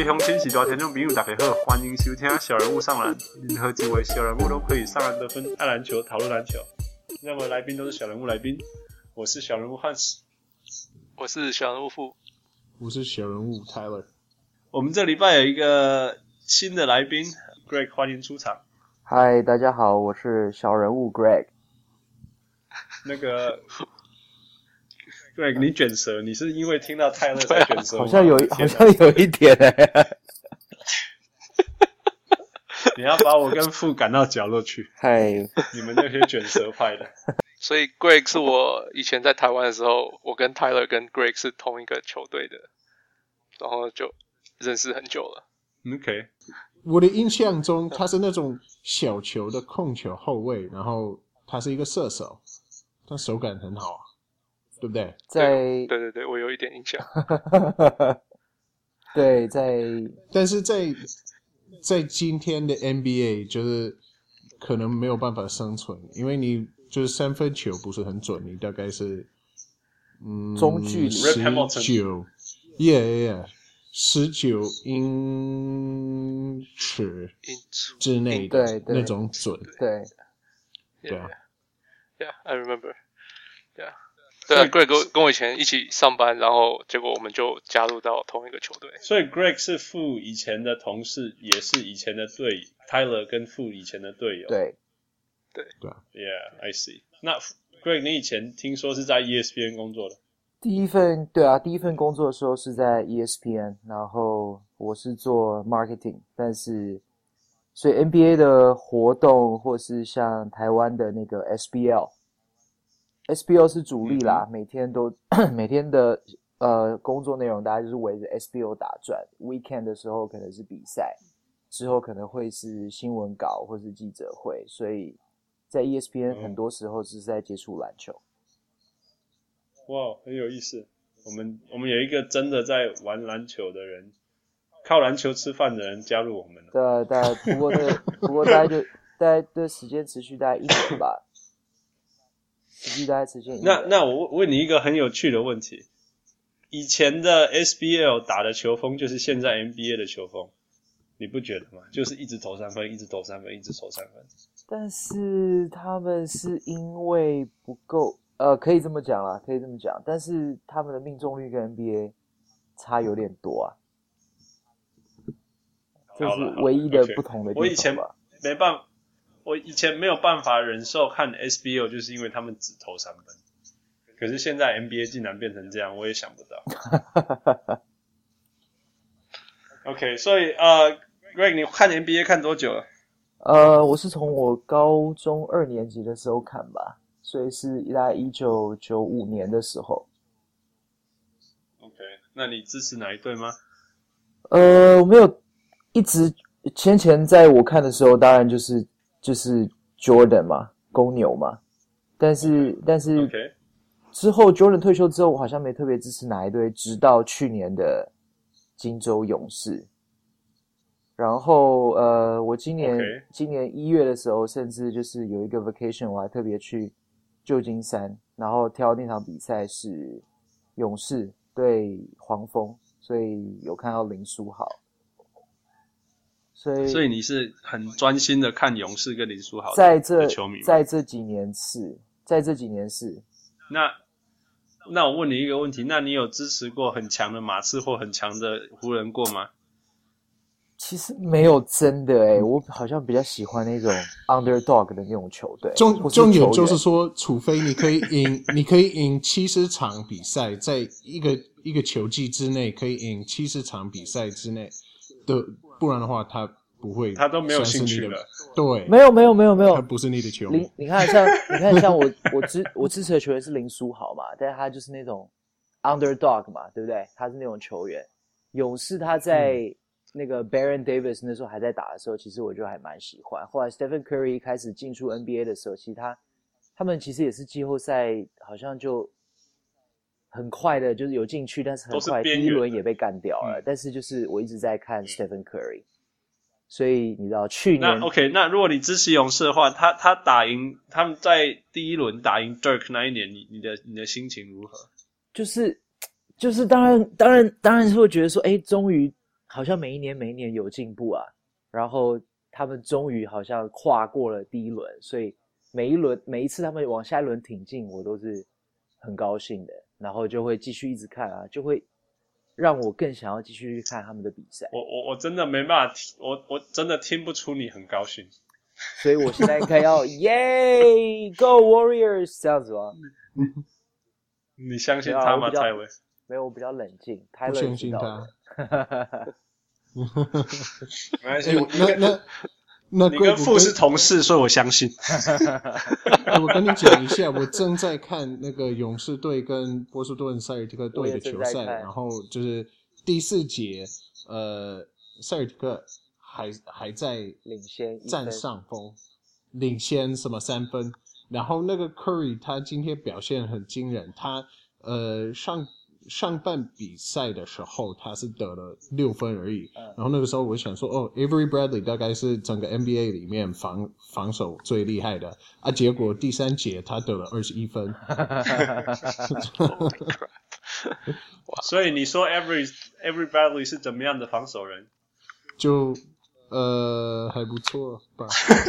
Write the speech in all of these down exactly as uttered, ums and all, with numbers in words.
鄉親是大聽眾朋友大家好，歡迎收聽小人物上籃。任何幾位小人物都可以上籃得分，愛籃球，討論籃球。任何來賓都是小人物來賓。我是小人物漢斯， 我是小人物富， 我是小人物 Tyler。 我們這禮拜有一個新的來賓 Greg， 歡迎出場。 嗨，大家好，我是小人物 Greg。 那個 Greg， 你卷舌，你是因為聽到泰勒才卷舌嗎？ 好像有，好像有一點哎、欸。 你要把我跟富趕到角落去。 嗨， 你們那些卷舌派的。 所以 Greg 是我以前在台灣的時候，我跟 Tyler 跟 Greg 是同一個球隊的，然後就認識很久了。 OK。 我的印象中，他是那種小球的控球後衛，然後他是一個射手，他手感很好啊，對不對？ 在对对对，我有一點印象。 对，在但是在在今天的 N B A 就是可能沒有辦法生存，因為你就是三分球不是很準，你大概是嗯中距離十九 ，yeah yeah yeah。十九英尺之內的那種準， 對， 對啊 ，Yeah, I remember. Yeah, 對啊 ，Greg 跟跟我以前一起上班，然後結果我們就加入到同一個球隊。 所以 Greg 是富以前的同事，也是以前的隊友 ，Tyler 跟富以前的隊友。 對， 對对啊 ，Yeah, I see. 那 Greg， 你以前聽說是在 E S P N 工作的？ 第一份對啊，第一份工作的時候是在 E S P N， 然後我是做 marketing， 但是所以 N B A 的活動或是像台灣的那個 S B L，S B L 是主力啦，嗯、每天都每天的呃工作內容大概就是圍着 S B L 打轉。Weekend 的時候可能是比賽，之後可能會是新聞稿或是記者會，所以在 E S P N 很多時候是在接觸籃球。 哇，很有意思。我們我們有一個真的在玩籃球的人，靠籃球吃飯的人加入我們了。 對啊，大概不過那不過大概就大概的時間持續大概一年吧，持續大概持續一年。 那那我問你一個很有趣的問題：以前的 S B L 打的球風就是現在 N B A 的球風，你不覺得嗎？就是一直投三分，一直投三分，一直投三分。 但是他們是因為不夠。呃，可以這麼講啦，可以這麼講，但是他們的命中率跟 N B A 差有點多啊，這是唯一的不同的地方吧。 我以前沒辦法，我以前沒有辦法忍受看 S B L， 就是因為他們只投三分。可是現在 N B A 竟然變成這樣，我也想不到。OK， 所以呃 ，Greg， 你看 N B A 看多久了？ 呃，我是從我高中二年級的時候看吧。所以是大概一九九五年的時候。 OK， 那你支持哪一隊嗎？ 呃，我沒有一直先前在我看的時候，當然就是就是 Jordan 嘛，公牛嘛。但是、okay. 但是 okay. 之後 Jordan 退休之後，我好像沒特別支持哪一隊，直到去年的金州勇士。然後呃，我今年、okay. 今年一月的時候，甚至就是有一個 vacation， 我還特別去舊金山，然後挑那場比賽是勇士對黃蜂，所以有看到林書豪。所以， 所以你是很專心的看勇士跟林書豪在這的球迷嗎？ 在這幾年是，在這幾年是。 那那我問你一個問題，那你有支持過很強的馬刺或很強的湖人過嗎？ 其實沒有真的誒、欸、我好像比較喜歡那種 underdog 的那種球隊。 重重點就是說，除非你可以贏，你可以贏七十場比賽，在一個一個球季之內可以贏七十場比賽之內的，不然的話他不會， 他都沒有興趣了。 對， 沒有沒有沒有沒有， 他不是你的球迷。 你看像你看像我我支我支持的球員是林書豪嘛，但是他就是那種 underdog 嘛，對不對？他是那種球員。勇士他在、嗯那個 Baron Davis 那時候還在打的時候，其實我就還蠻喜歡。後來 Stephen Curry 開始進出 N B A 的時候，其實他他們其實也是季後賽好像就很快的，就是有進去，但是很快第一輪也被幹掉了、嗯。但是就是我一直在看 Stephen Curry，、嗯、所以你知道去年那 OK， 那如果你支持勇士的話，他他打贏他們在第一輪打贏 Dirk 那一年，你你的你的心情如何？ 就是就是當然當然當然是會覺得說，哎，終於。 好像每一年每一年有進步啊，然後他們終於好像跨過了第一輪，所以每一輪每一次他們往下一輪挺進，我都是很高興的，然後就會繼續一直看啊，就會讓我更想要繼續去看他們的比賽。 我我我真的沒辦法聽，我我真的聽不出你很高興， 所以我現在應該要耶 Go Warriors 這樣子嗎？ 你相信他嗎，泰維？ 沒有，我比較冷靜。泰勒不相信他。 沒關係， 欸、那那那你跟父是同事，所以我相信。 欸、我跟你講一下，我正在看那個勇士隊跟波士頓塞爾提克隊的球賽，然後就是第四節，呃，塞爾提克還還在領先佔上風，領先什麼三分，然後那個 Curry 他今天表現很驚人，他呃上。上半比賽的時候他是得了六分而已，嗯、然後那個時候我想說哦 Avery Bradley 大概是整個 N B A 裡面防防守最厲害的啊，結果第三節他得了二十一分。 所以你說 Avery Avery Bradley 是怎麼樣的防守人？ 就呃還不錯吧。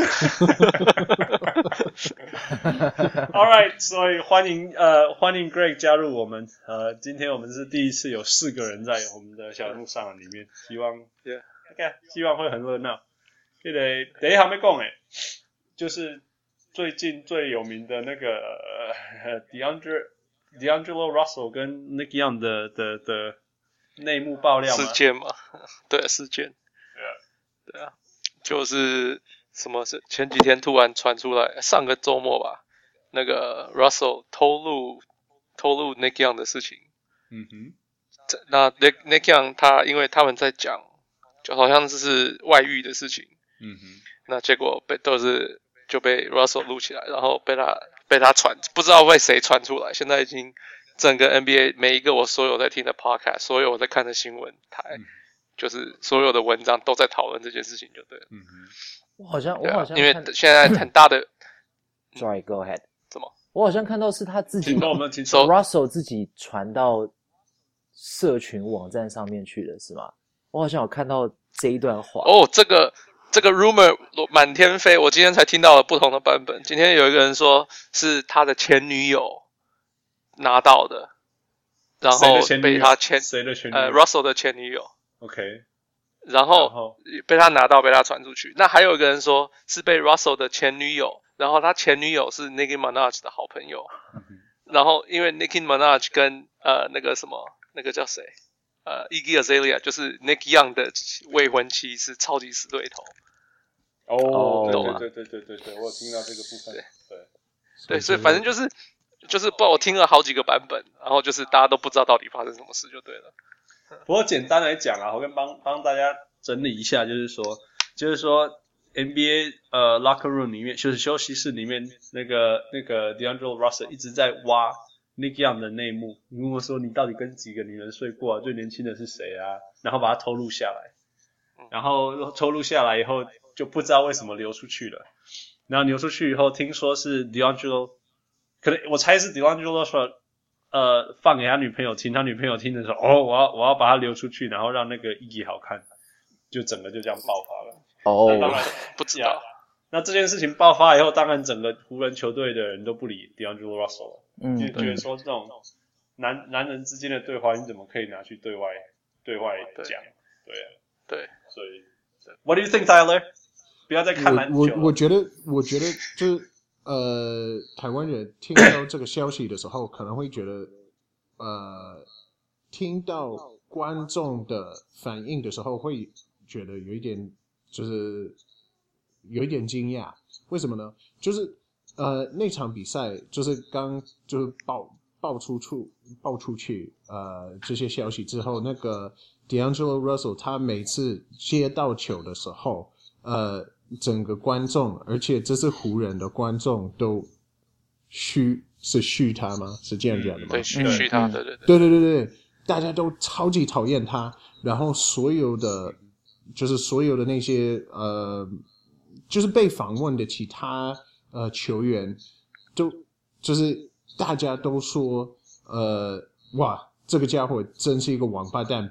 All right， 所以歡迎呃歡迎 Greg 加入我們。呃，今天我們是第一次有四個人在我們的小路上裡面，希望 yeah OK 希望會很熱鬧。這個第一還沒講誒，就是最近最有名的那個呃 DeAndre D'Angelo Russell 跟 Nick Young 的的的內幕爆料事件嘛，對事件，對啊，對啊，就是什麼是前幾天突然傳出來，上個周末吧，那個 Russell 透露透露 Nick Young 的事情， 嗯哼， 那 Nick Nick Young 他因為他們在講，就好像是外遇的事情， 嗯哼， 那結果被都是就被 Russell 錄起來，然後被他被他傳，不知道被誰傳出來，現在已經整個 N B A 每一個我所有在聽的 podcast， 所有我在看的新聞台，嗯、就是所有的文章都在討論這件事情，就對了。 嗯哼， 我好像我好像因為現在很大的 ，Sorry, go ahead。 怎麼？ 我好像看到是他自己我們 Russell 自己傳到社群網站上面去的是嗎？我好像有看到這一段話。 哦，這個。這個 rumor 滿天飛，我今天才聽到了不同的版本。今天有一個人說是他的前女友拿到的，然後被他前誰的前女友？ 呃 Russell 的前女友。 OK， 然後被他拿到，被他傳出去。那還有一個人說是被 Russell 的前女友，然後他前女友是 Nicki Minaj 的好朋友。嗯、然後因為 Nicki Minaj 跟呃那個什麼那個叫誰？呃 Iggy Azalea 就是 Nick Young 的未婚妻是超級死對頭。 哦，對對對對对对，我有聽到這個部分。對對對，所以反正就是就是不知道我聽了好幾個版本，然後就是大家都不知道到底發生什麼事就對了。 不過簡單來講啊，我跟幫幫大家整理一下，就是說就是說 N B A 呃 locker room 裡面就是休息室裡面那個那個 D'Angelo Russell 一直在挖 Nick Young 的內幕，如果說你到底跟幾個女人睡過啊，最年輕的是誰啊，然後把它偷錄下來，然後偷錄下來以後就不知道為什麼流出去了，然後流出去以後聽說是 D'Angelo 可能我猜是 D'Angelo 說呃放給他女朋友聽，他女朋友聽的時候哦我要我要把它流出去，然後讓那個意義好看，就整個就這樣爆發了。 哦， 那當然不知道。 那這件事情爆發以後，當然整個湖人球隊的人都不理 D'Angelo Russell 了，嗯，就覺得說這種男男人之間的對話你怎麼可以拿去對外對外講？對啊， 對， 所以 What do you think, Tyler？不要再看籃球了。 我我我覺得，我覺得就是呃，台灣人聽到這個消息的時候，可能會覺得，呃，聽到觀眾的反應的時候，會覺得有一點，就是有一點驚訝。為什麼呢？就是呃，那場比賽就是剛就是爆爆出出爆出去呃這些消息之後，那個 D'Angelo Russell 他每次接到球的時候，呃。整個觀眾，而且這是湖人的觀眾都噓是噓他嗎？是這樣講的嗎？ 對，噓噓他，對對對對對對，大家都超級討厭他，然後所有的就是所有的那些呃，就是被訪問的其他呃球員，都就是大家都說呃哇，這個家伙真是一個王八蛋，不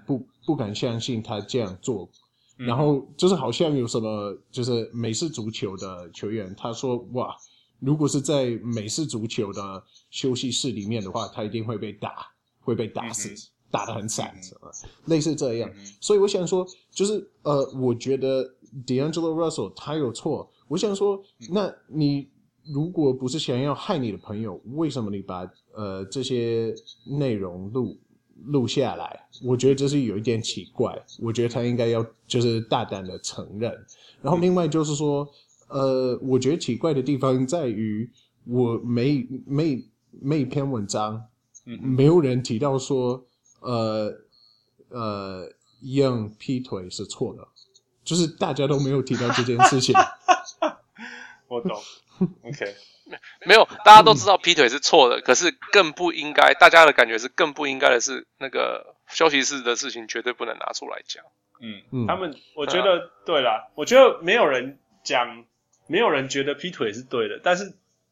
不敢相信他這樣做。嗯、然後就是好像有什麼就是美式足球的球員，他說哇，如果是在美式足球的休息室裡面的話，他一定會被打，會被打死。嗯打得很慘，嗯、類似這樣，嗯、所以我想說，就是呃，我覺得 D'Angelo Russell 他有錯。我想說，那你如果不是想要害你的朋友，為什麼你把呃這些內容錄錄下來？我覺得這是有一點奇怪。我覺得他應該要就是大膽的承認。然後另外就是說，呃，我覺得奇怪的地方在於，我每每每一篇文章，沒有人提到說。呃呃 Young 劈腿是錯的，就是大家都沒有提到這件事情。 我懂 ，OK， 沒有，大家都知道劈腿是錯的，可是更不應該，大家的感覺是更不應該的是那個休息室的事情絕對不能拿出來講。 嗯嗯，他們我覺得、啊、對啦，我覺得沒有人講，沒有人覺得劈腿是對的，但是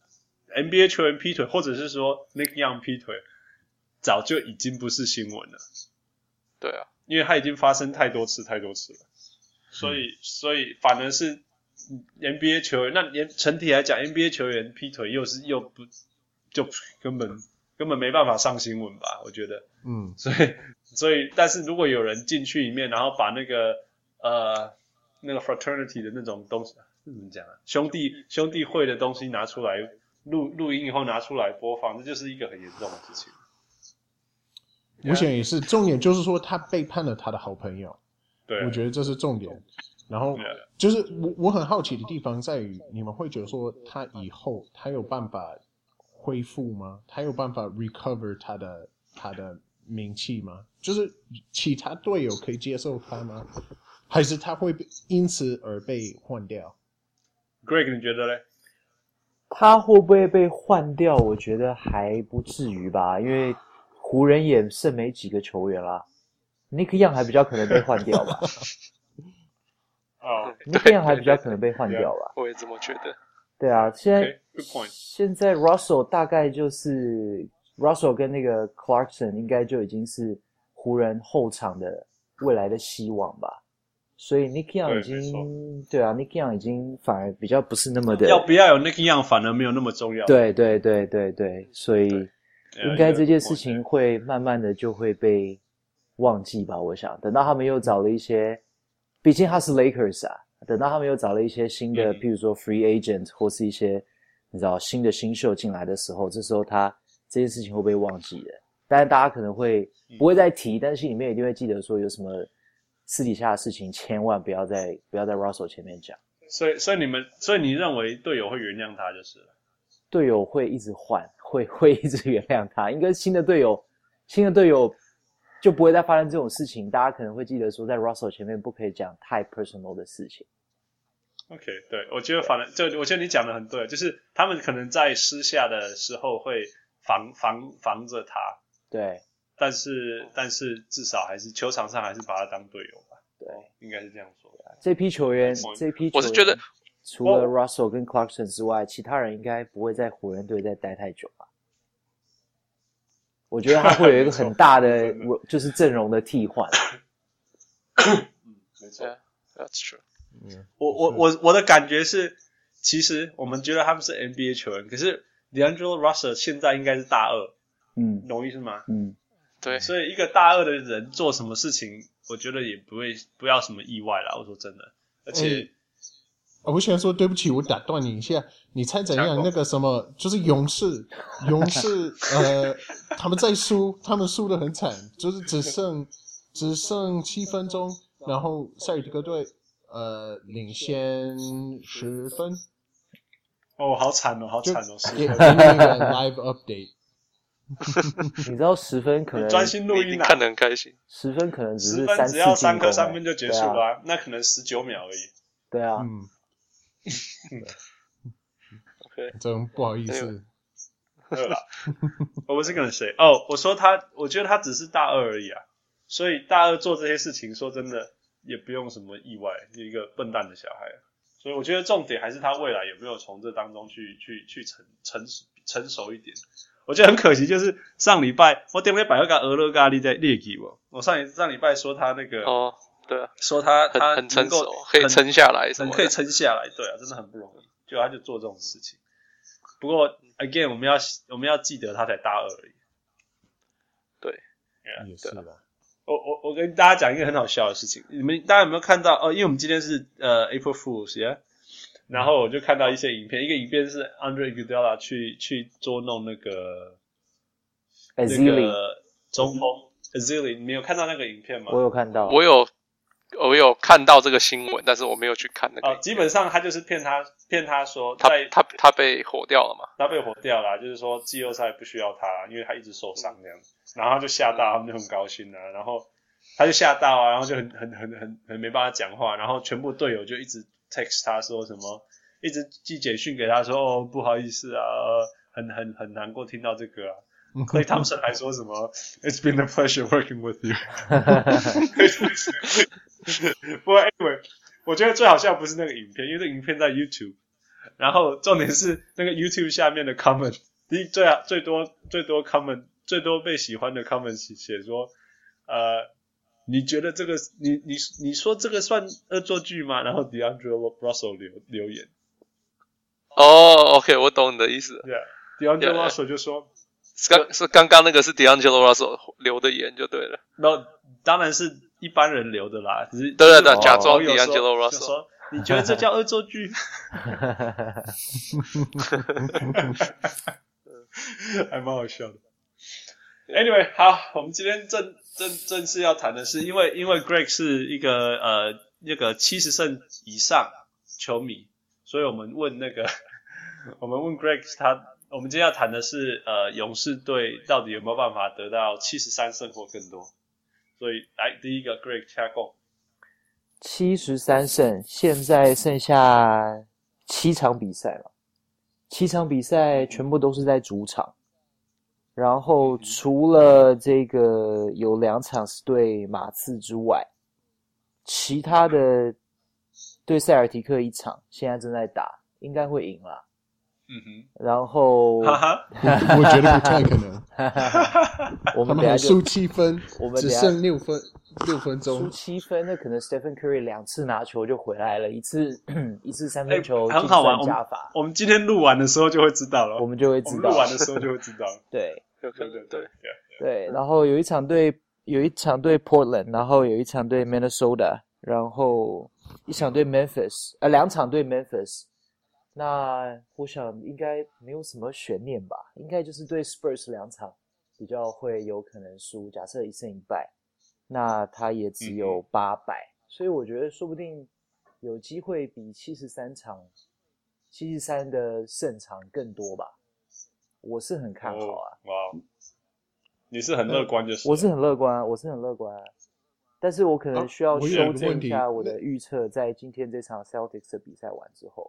N B A 球員劈腿，或者是說 Nick Young 劈腿。早就已經不是新聞了， 對啊， 因為它已經發生太多次太多次了，所以、嗯、所以反而是 N B A 球員，那連整體來講 N B A 球員劈腿又是又不就根本根本沒辦法上新聞吧？我覺得， 嗯， 所以所以但是如果有人進去裡面，然後把那個呃那個 fraternity 的那種東西怎麼講啊，兄弟兄弟會的東西拿出來錄錄音以後拿出來播放，這就是一個很嚴重的事情。 我想也是，重點就是說他背叛了他的好朋友， 對， 我覺得這是重點。然後就是我我很好奇的地方在於，你們會覺得說他以後他有辦法恢復嗎？他有辦法 recover 他的他的名氣嗎？就是其他隊友可以接受他嗎？還是他會因此而被換掉 ？Greg， 你覺得嘞？ 他會不會被換掉？我覺得還不至於吧，因為。湖人也剩沒幾個球員啦 ，Nick Young 還比較可能被換掉吧。 哦、 oh, ，Nick Young 還比較可能被換掉吧。 我也這麼覺得。 對啊，現在、 okay, 現在 Russell 大概就是 Russell 跟那個 Clarkson 應該就已經是湖人後場的未來的希望吧。所以 Nick Young 已經 對, 對啊 ，Nick Young 已經反而比較不是那麼的。 要不要有 Nick Young 反而沒有那麼重要。 對對對對對，所以。應該這件事情會慢慢的就會被忘記吧，我想等到他們又找了一些，畢竟他是 Lakers 啊，等到他們又找了一些新的，譬如說 free agent 或是一些你知道新的新秀進來的時候，這時候他這件事情會被忘記的。當然大家可能會不會再提，但是心裡面一定會記得說有什麼私底下的事情，千萬不要在不要在 Russell 前面講。 所以所以你們所以你認為隊友會原諒他就是了？ 隊友會一直換。會會一直原諒他，應該新的隊友，新的隊友就不會再發生這種事情。大家可能會記得說，在 Russell 前面不可以講太 personal 的事情。 OK， 對，我覺得反正就我覺得你講的很對，就是他們可能在私下的時候會防防防着他， 對， 但是但是至少還是球場上還是把他當隊友吧， 對， 應該是這樣說的。 這批球員，這批球員， 我是覺得。 除了 Russell 跟 Clarkson 之外，其他人應該不會在湖人隊再待太久吧？我覺得他會有一個很大的，就是陣容的替換。 嗯，沒錯 ，That's true。 我我我我的感覺是，其實我們覺得他們是 N B A 球員，可是 D'Angelo Russell 現在應該是大二， 嗯， 懂意思嗎？ 嗯， 對。 所以一個大二的人做什麼事情，我覺得也不會不要什麼意外啦。我說真的，而且。嗯我想說對不起，我打斷你一下。你猜怎樣？那個什麼，就是勇士，勇士，呃，他們在輸，他們輸得很慘，就是只剩只剩七分鐘，然後塞爾提克隊呃領先十分。 哦，好慘哦，好慘哦！ 給給你一個 live update。 你知道十分可能專心錄音啊， 看得很開心。 十分可能只是三三只要三顆三分分就結束了、啊啊，那可能十九秒而已。 對啊。 嗯。 OK， 真不好意思。 对啦，我不是跟誰哦，我說他，我覺得他只是大二而已啊，所以大二做這些事情，說真的也不用什麼意外，一個笨蛋的小孩。所以我覺得重點還是他未來有沒有從這當中去去去成成成熟一點。 我覺得很可惜，就是上禮拜我點開百個鵝肉咖喱在列給我，我上一上禮拜說他那個哦，對啊， 說他他很很成熟，可以撐下來什麼的， 很可以撐下來，對啊，真的很不容易，就他就做這種事情。不過 again 我們要我們要記得他才大二而已。對， yeah, 也是啦。 我我我跟大家講一個很好笑的事情，你們大家有沒有看到？哦，因為我們今天是呃 April Fools， yeah? 然後我就看到一些影片，一個影片是 Andre Iguodala 去去捉弄那個 Ezeli 那個中鋒 Ezeli， 你沒有看到那個影片嗎？ 我有看到， 我有我有看到這個新聞，但是我沒有去看那個。 哦，基本上他就是騙他騙他說他在他他被火掉了嘛？ 他被火掉了，就是說季後賽不需要他，因為他一直受傷這樣子。然後他就嚇到，他們就很高興啊，然後他就嚇到啊，然後就很很很很很沒辦法講話，然後全部隊友就一直 text 他說什麼，一直寄簡訊給他說哦不好意思啊，很很很難過聽到這個啊。Klay Thompson 還說什麼 It's been a pleasure working with you 不過 anyway 我覺得最好笑不是那個影片，因為這個影片在 YouTube， 然後重點是那個 YouTube 下面的 comment， 第一最最多最多 comment 最多被喜歡的 comment 寫說呃你覺得這個你你你說這個算惡作劇嗎？然後 D'Angelo Russell 留留言哦、oh, OK 我懂你的意思。 對啊 D'Angelo yeah, Russell 就說剛是剛剛那個是 D'Angelo Russell 留的言就對了。 那當然是一般人留的啦，只是對對對，假裝 D'Angelo Russell 說你覺得這叫惡作劇？還蠻好笑的。Anyway， 好，我們今天正正正式要談的是，因為因為 Greg 是一個呃那個七十勝以上球迷，所以我們問那個我們問 Greg 他。我們今天要談的是，呃，勇士隊到底有沒有辦法得到七十三勝或更多？所以，來第一個 Greg 掐共七十三勝，現在剩下七場比賽了，七場比賽全部都是在主場，然後除了這個有兩場是對馬刺之外，其他的對塞爾提克一場，現在正在打，應該會贏啦。嗯哼，然後我, 我覺得不太可能。 我們他們還輸七分， 我們只剩六分，六分鐘。 輸七分，那可能 Stephen Curry 兩次拿球就回來了，一次一次三分球， 欸、很好玩。 加法我們我們今天錄完的時候就會知道了， 我們就會知道。 錄完的時候就會知道。 對， 對對對對對。然後有一場對有一場對 Portland， 然後有一場對 Minnesota， 然後一場對 Memphis， 呃，兩場對 Memphis。那我想應該沒有什麼懸念吧，應該就是對 Spurs 兩場比較會有可能輸，假設一勝一敗，那他也只有八敗，嗯，所以我覺得說不定有機會比七十三場七十三的勝場更多吧，我是很看好啊。 哦，哇，你是很樂觀就是， 嗯，我是很樂觀，我是很樂觀啊，但是我可能需要修正一下我的預測，在今天這場 Celtics 的比賽完之後。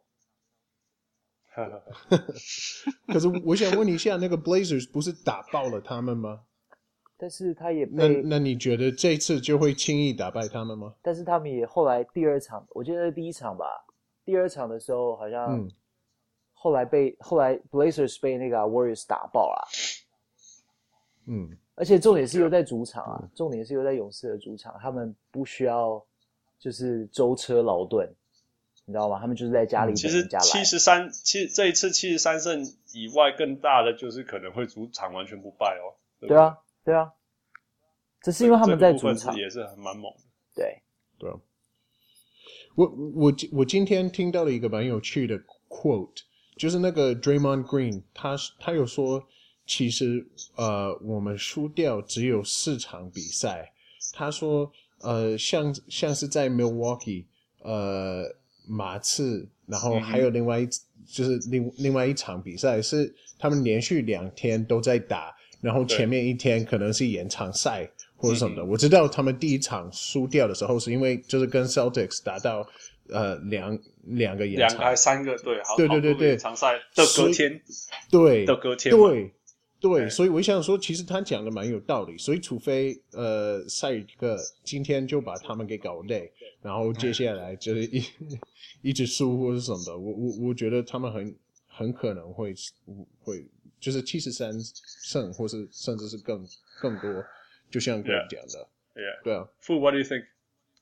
可是我想問你一下，那個 Blazers 不是打爆了他們嗎？ 但是他也被那那你覺得這次就會輕易打敗他們嗎？ 但是他們也後來第二場，我記得第一場吧，第二場的時候好像，嗯，後來被後來 Blazers 被那個 Warriors 打爆了，嗯，而且重點是又在主場啊，嗯，重點是又在勇士的主場，他們不需要就是舟車勞頓。你知道嗎？他們就是在家裡等人家來。其實七十三，其實這一次七十三勝以外，更大的就是可能會主場完全不敗哦。對, 對啊， 對啊，這是因為他們在主場， 這個、部分是也是很蠻猛的。 對對啊，我我我今天聽到了一個蠻有趣的 quote， 就是那個 Draymond Green， 他他有說，其實呃我們輸掉只有四場比賽。他說呃像像是在 Milwaukee 呃。馬刺，然後還有另外一、嗯、就是另另外一場比賽是他們連續兩天都在打，然後前面一天可能是延長賽或者什麼的。我知道他們第一場輸掉的時候是因為就是跟 Celtics 打到呃兩兩個延長， 兩個還三個對，好對對對對， 延長賽的隔天， 對的隔天， 對對，所以我想說，其實他講的蠻有道理。所以除非呃塞爾提克今天就把他們給搞累，然後接下來就是一。一直輸或是什麼的，我我我覺得他們很很可能會會就是七十三勝，或是甚至是更更多，就像 Greg 講的。 Yeah. 對啊。 Fu, what do you think?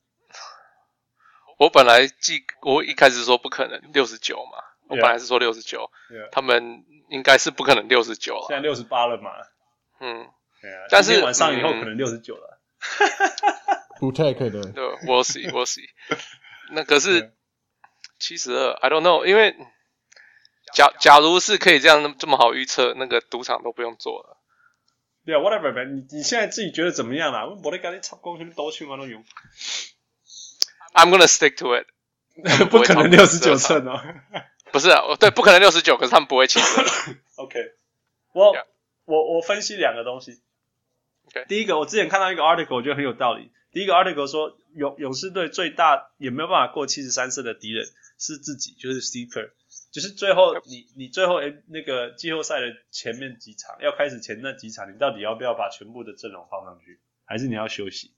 我本來記，我一開始說不可能六十九嘛， yeah. 我本來是說六十九， yeah. 他們應該是不可能六十九了。 現在六十八了嘛。 嗯。 Yeah. 但是今天晚上以後可能六十九了。 不太可能。 對 ，We'll see, we'll see 。那可是七十二 ，I don't know， 因為假假如是可以這樣這麼好預測，那個賭場都不用做了。 對啊 ，whatever man， 你你現在自己覺得怎麼樣啦？我得趕緊插光去兜去嘛都用。 I'm gonna stick to it 不。 不可能六十九勝哦。 不是啊，對，不可能六十九，可是他們不會七十二。 OK， 我、 yeah. 我我分析兩個東西。 Okay. 第一個，我之前看到一個 article， 我覺得很有道理。第一個 article 說，勇勇士隊最大也沒有辦法過七十三勝的敵人是自己，就是 Steve Kerr， 就是最後你你最後誒那個季後賽的前面幾場要開始前那幾場，你到底要不要把全部的陣容放上去，還是你要休息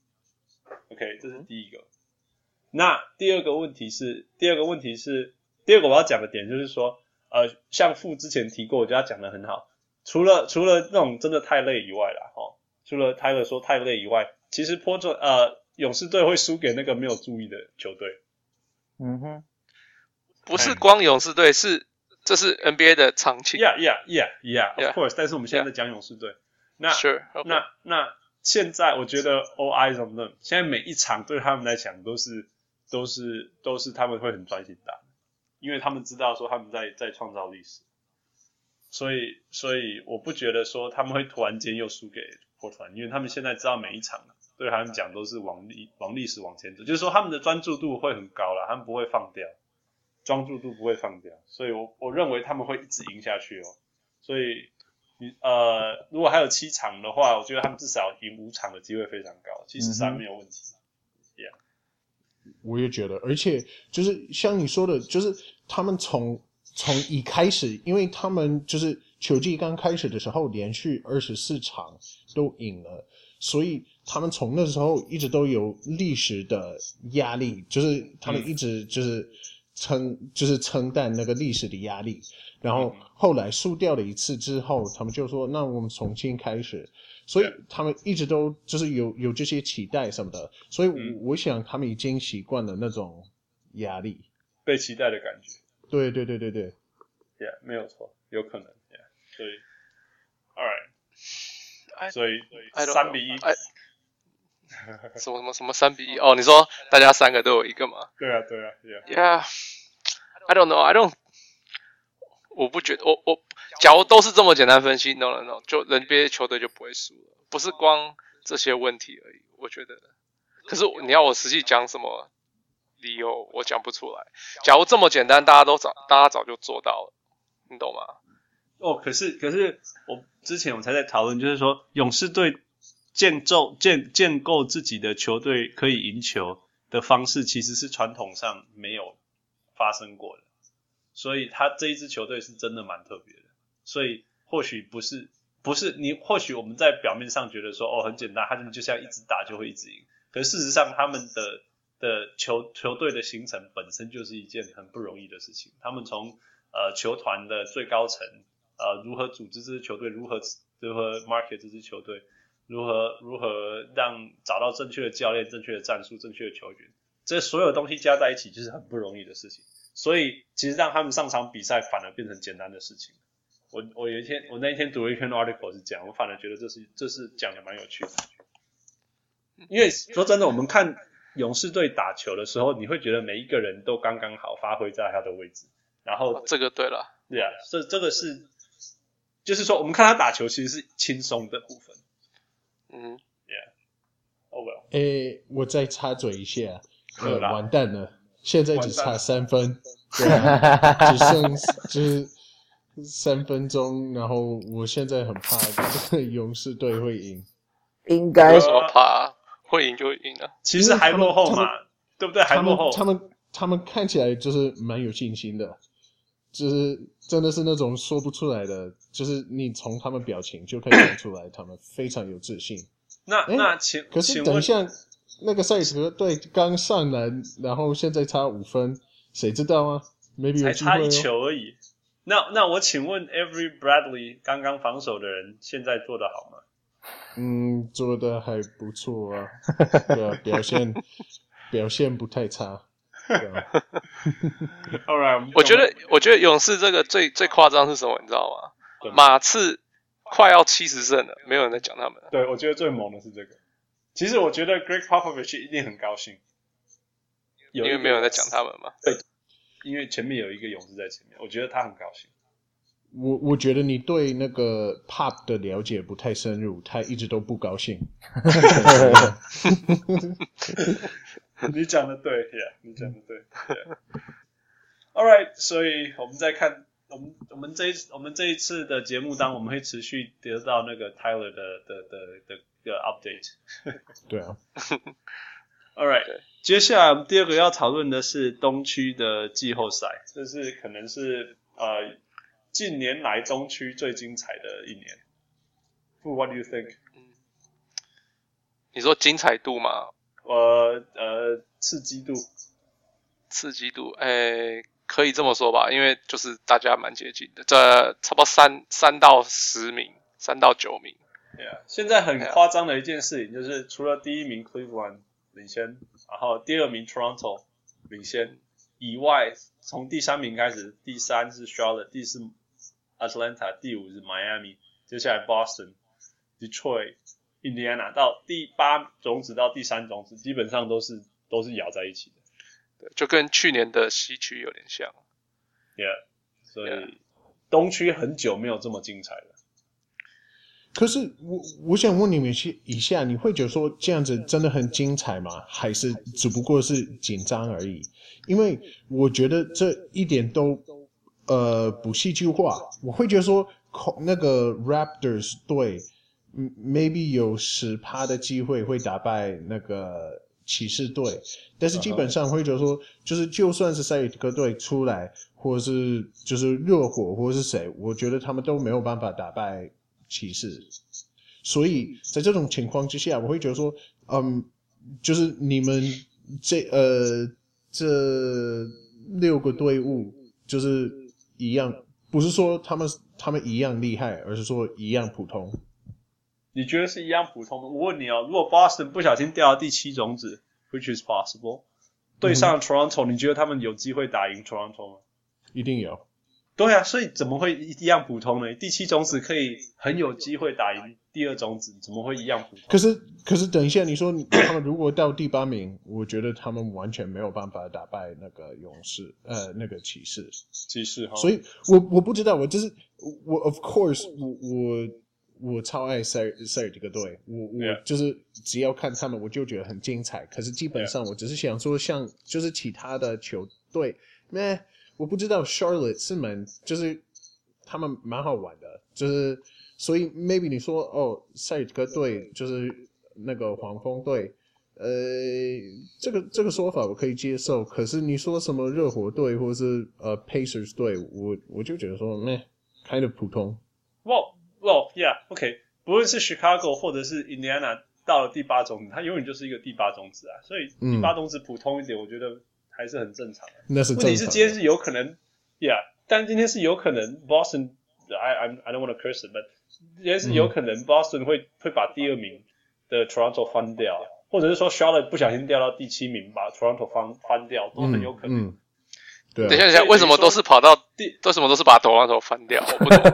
？OK， 這是第一個。嗯、那第二個問題是，第二個問題是，第二個我要講的點就是說，呃，像傅之前提過，我覺得他講的很好，除了除了那種真的太累以外啦，齁。除了 Tyler 說太累以外，其實波特呃勇士隊會輸給那個沒有注意的球隊。 嗯哼， 不是光勇士隊，是這是 N B A 的常情。 Yeah, yeah, yeah, yeah, of course. Yeah. 但是我們現在在講勇士隊。Yeah. 那 Sure, okay. 那那現在我覺得 all eyes on them。現在每一場對他們來講都是都是都是他們會很專心打，因為他們知道說他們在在創造歷史。所以所以我不覺得說他們會突然間又輸給波特蘭，因為他們現在知道每一場對他們講都是往歷往歷史往前走，就是說他們的專注度會很高啦，他們不會放掉，專注度不會放掉，所以我我認為他們會一直贏下去哦。所以你呃如果還有七場的話，我覺得他們至少贏五場的機會非常高，七十三沒有問題。嗯、yeah. 我也覺得，而且就是像你說的，就是他們從從一開始，因為他們就是球季剛開始的時候，連續二十四場都贏了，所以他們從那時候一直都有歷史的壓力，就是他們一直就是撐、嗯，就是承擔那個歷史的壓力。然後後來輸掉了一次之後，他們就說：“那我們重新開始。”所以他們一直都就是有有這些期待什麼的，所以我想他們已經習慣了那種壓力， 被期待的感覺。 對對對對對 ，Yeah， 沒有錯，有可能 ，Yeah， 所以 ，All right， 所以三比一， 什麼什麼什麼三比一？哦，你說大家三個都有一個嗎？ 對啊對啊 ，Yeah，Yeah，I don't know，I don't， 我不覺得，我我假如都是這麼簡單分析 ，No No No， 就人別的球隊就不會輸了，不是光這些問題而已，我覺得。可是你要我實際講什麼？理由我講不出來。假如這麼簡單，大家都早，大家早就做到了，你懂嗎？ 哦，可是可是我之前我們才在討論，就是說勇士隊建構建建構自己的球隊可以贏球的方式，其實是傳統上沒有發生過的，所以他這一支球隊是真的蠻特別的。所以或許不是不是你，或許我們在表面上覺得說哦很簡單，他們就像一直打就會一直贏，可是事實上他們的的球球隊的形成本身就是一件很不容易的事情。他們從呃球團的最高層呃如何組織這支球隊，如何如何 market 這支球隊，如何如何讓找到正確的教練、正確的戰術、正確的球員，這所有東西加在一起就是很不容易的事情。所以其實讓他們上場比賽反而變成簡單的事情。我我有一天我那一天讀了一篇 article 是這樣，我反而覺得這是這是講的蠻有趣的。因為說真的，我們看勇士隊打球的時候，你會覺得每一個人都剛剛好發揮在他的位置，然後、 哦、這個對了， 對啊，這這個是，就是說我們看他打球其實是輕鬆的部分， 嗯 ，Yeah，Oh well， 誒，我再插嘴一下，呃，完蛋了，現在只差三分，對啊，只剩就是三分鐘，然後我現在很怕這個勇士隊會贏， 應該有什麼怕？會贏就會贏啊， 其實還落後嘛，對不對？還落後， 他們他們他們看起來就是蠻有信心的，就是真的是那種說不出來的，就是你從他們表情就可以看出來，他們非常有自信。 那那請可是等一下，那個賽车隊剛上籃，然後現在差五分，誰知道啊 ？Maybe 有機會哦。 才差一球而已。 那那我請問 Avery Bradley 剛剛防守的人現在做得好嗎？ 嗯，做得還不錯啊，對啊，表現表現不太差。對啊 All right, 我覺得我覺得勇士這個最最誇張是什麼，你知道嗎？馬刺快要七十勝了，沒有人在講他們。 對，我覺得最猛的是這個。其實我覺得 Greg Popovich 一定很高興， 因為沒有人在講他們嘛。 對，因為前面有一個勇士在前面，我覺得他很高興。 我我覺得你對那個 Pop 的了解不太深入，他一直都不高興。 你講的對 ，Yeah， 你講的對。Yeah. All right， 所以我們再看，我們我們這一我們這一次的節目當我們會持續得到那個 Tyler 的的的的的 update。 對啊。 All right， 接下來我們第二個要討論的是東區的季後賽，這是可能是呃近年來東區最精彩的一年。What do you think？ 你說精彩度嗎？ 呃呃，刺激度， 刺激度，誒，可以這麼說吧，因為就是大家蠻接近的，這差不多三三到十名，三到九名。 Yeah， 現在很誇張的一件事情就是，除了第一名 Cleveland 領先，然後第二名 Toronto 領先以外，從第三名開始，第三是 Charlotte， 第四 Atlanta， 第五是 Miami， 接下來 Boston、Detroit。Indiana 到第八種子到第三種子，基本上都是都是咬在一起的， 對，就跟去年的西區有點像。 Yeah， 所以 Yeah. 東區很久沒有這麼精彩了。 可是我我想問你們一下，你會覺得說這樣子真的很精彩嗎？還是只不過是緊張而已？因為我覺得這一點都呃不戲劇化。我會覺得說那個 Raptors 隊。maybe 有 百分之十 的機會會打敗那個騎士隊，但是基本上會覺得說，就是就算是塞爾提克隊出來，或者是就是熱火或者是誰，我覺得他們都沒有辦法打敗騎士。所以在這種情況之下，我會覺得說，嗯，就是你們這呃這六個隊伍就是一樣，不是說他們他們一樣厲害，而是說一樣普通。 你覺得是一樣普通的？我問你哦，如果 Boston 不小心掉到第七種子 ，which is possible， 對上 Toronto，、嗯、你覺得他們有機會打贏 Toronto 嗎？ 一定有。對啊，所以怎麼會一樣普通呢？第七種子可以很有機會打贏第二種子，怎麼會一樣普通？ 可是，可是等一下，你說他們如果到第八名，我覺得他們完全沒有辦法打敗那個勇士，呃，那個騎士。 騎士哈。所以我我不知道，我就是我 ，of course， 我我。我超愛塞爾塞爾這個隊，我我就是只要看他們，我就覺得很精彩。可是基本上，我只是想說，像就是其他的球隊，咩，我不知道 Charlotte 是蠻，就是他們蠻好玩的，就是所以 maybe 你說哦，塞爾這個隊就是那個黃蜂隊，呃，這個這個說法我可以接受。可是你說什麼熱火隊或者是呃 Pacers 隊，我我就覺得說咩 kind of 普通。 Well, yeah, OK. 不論是 Chicago 或者是 Indiana 到了第八種子，它永遠就是一個第八種子啊。所以第八種子普通一點，我覺得還是很正常的。 那是正常的。 問題是今天是有可能 ，Yeah， 但今天是有可能 Boston， I I I don't want to curse it, but 今天是有可能 Boston 會、嗯、會把第二名的 Toronto 翻掉，或者是說 Charlotte 不小心掉到第七名，把 Toronto 翻翻掉，都很有可能。嗯嗯對啊、 等一下，等一下，為什麼都是跑到第？為什麼都是把 Toronto 翻掉？我不懂。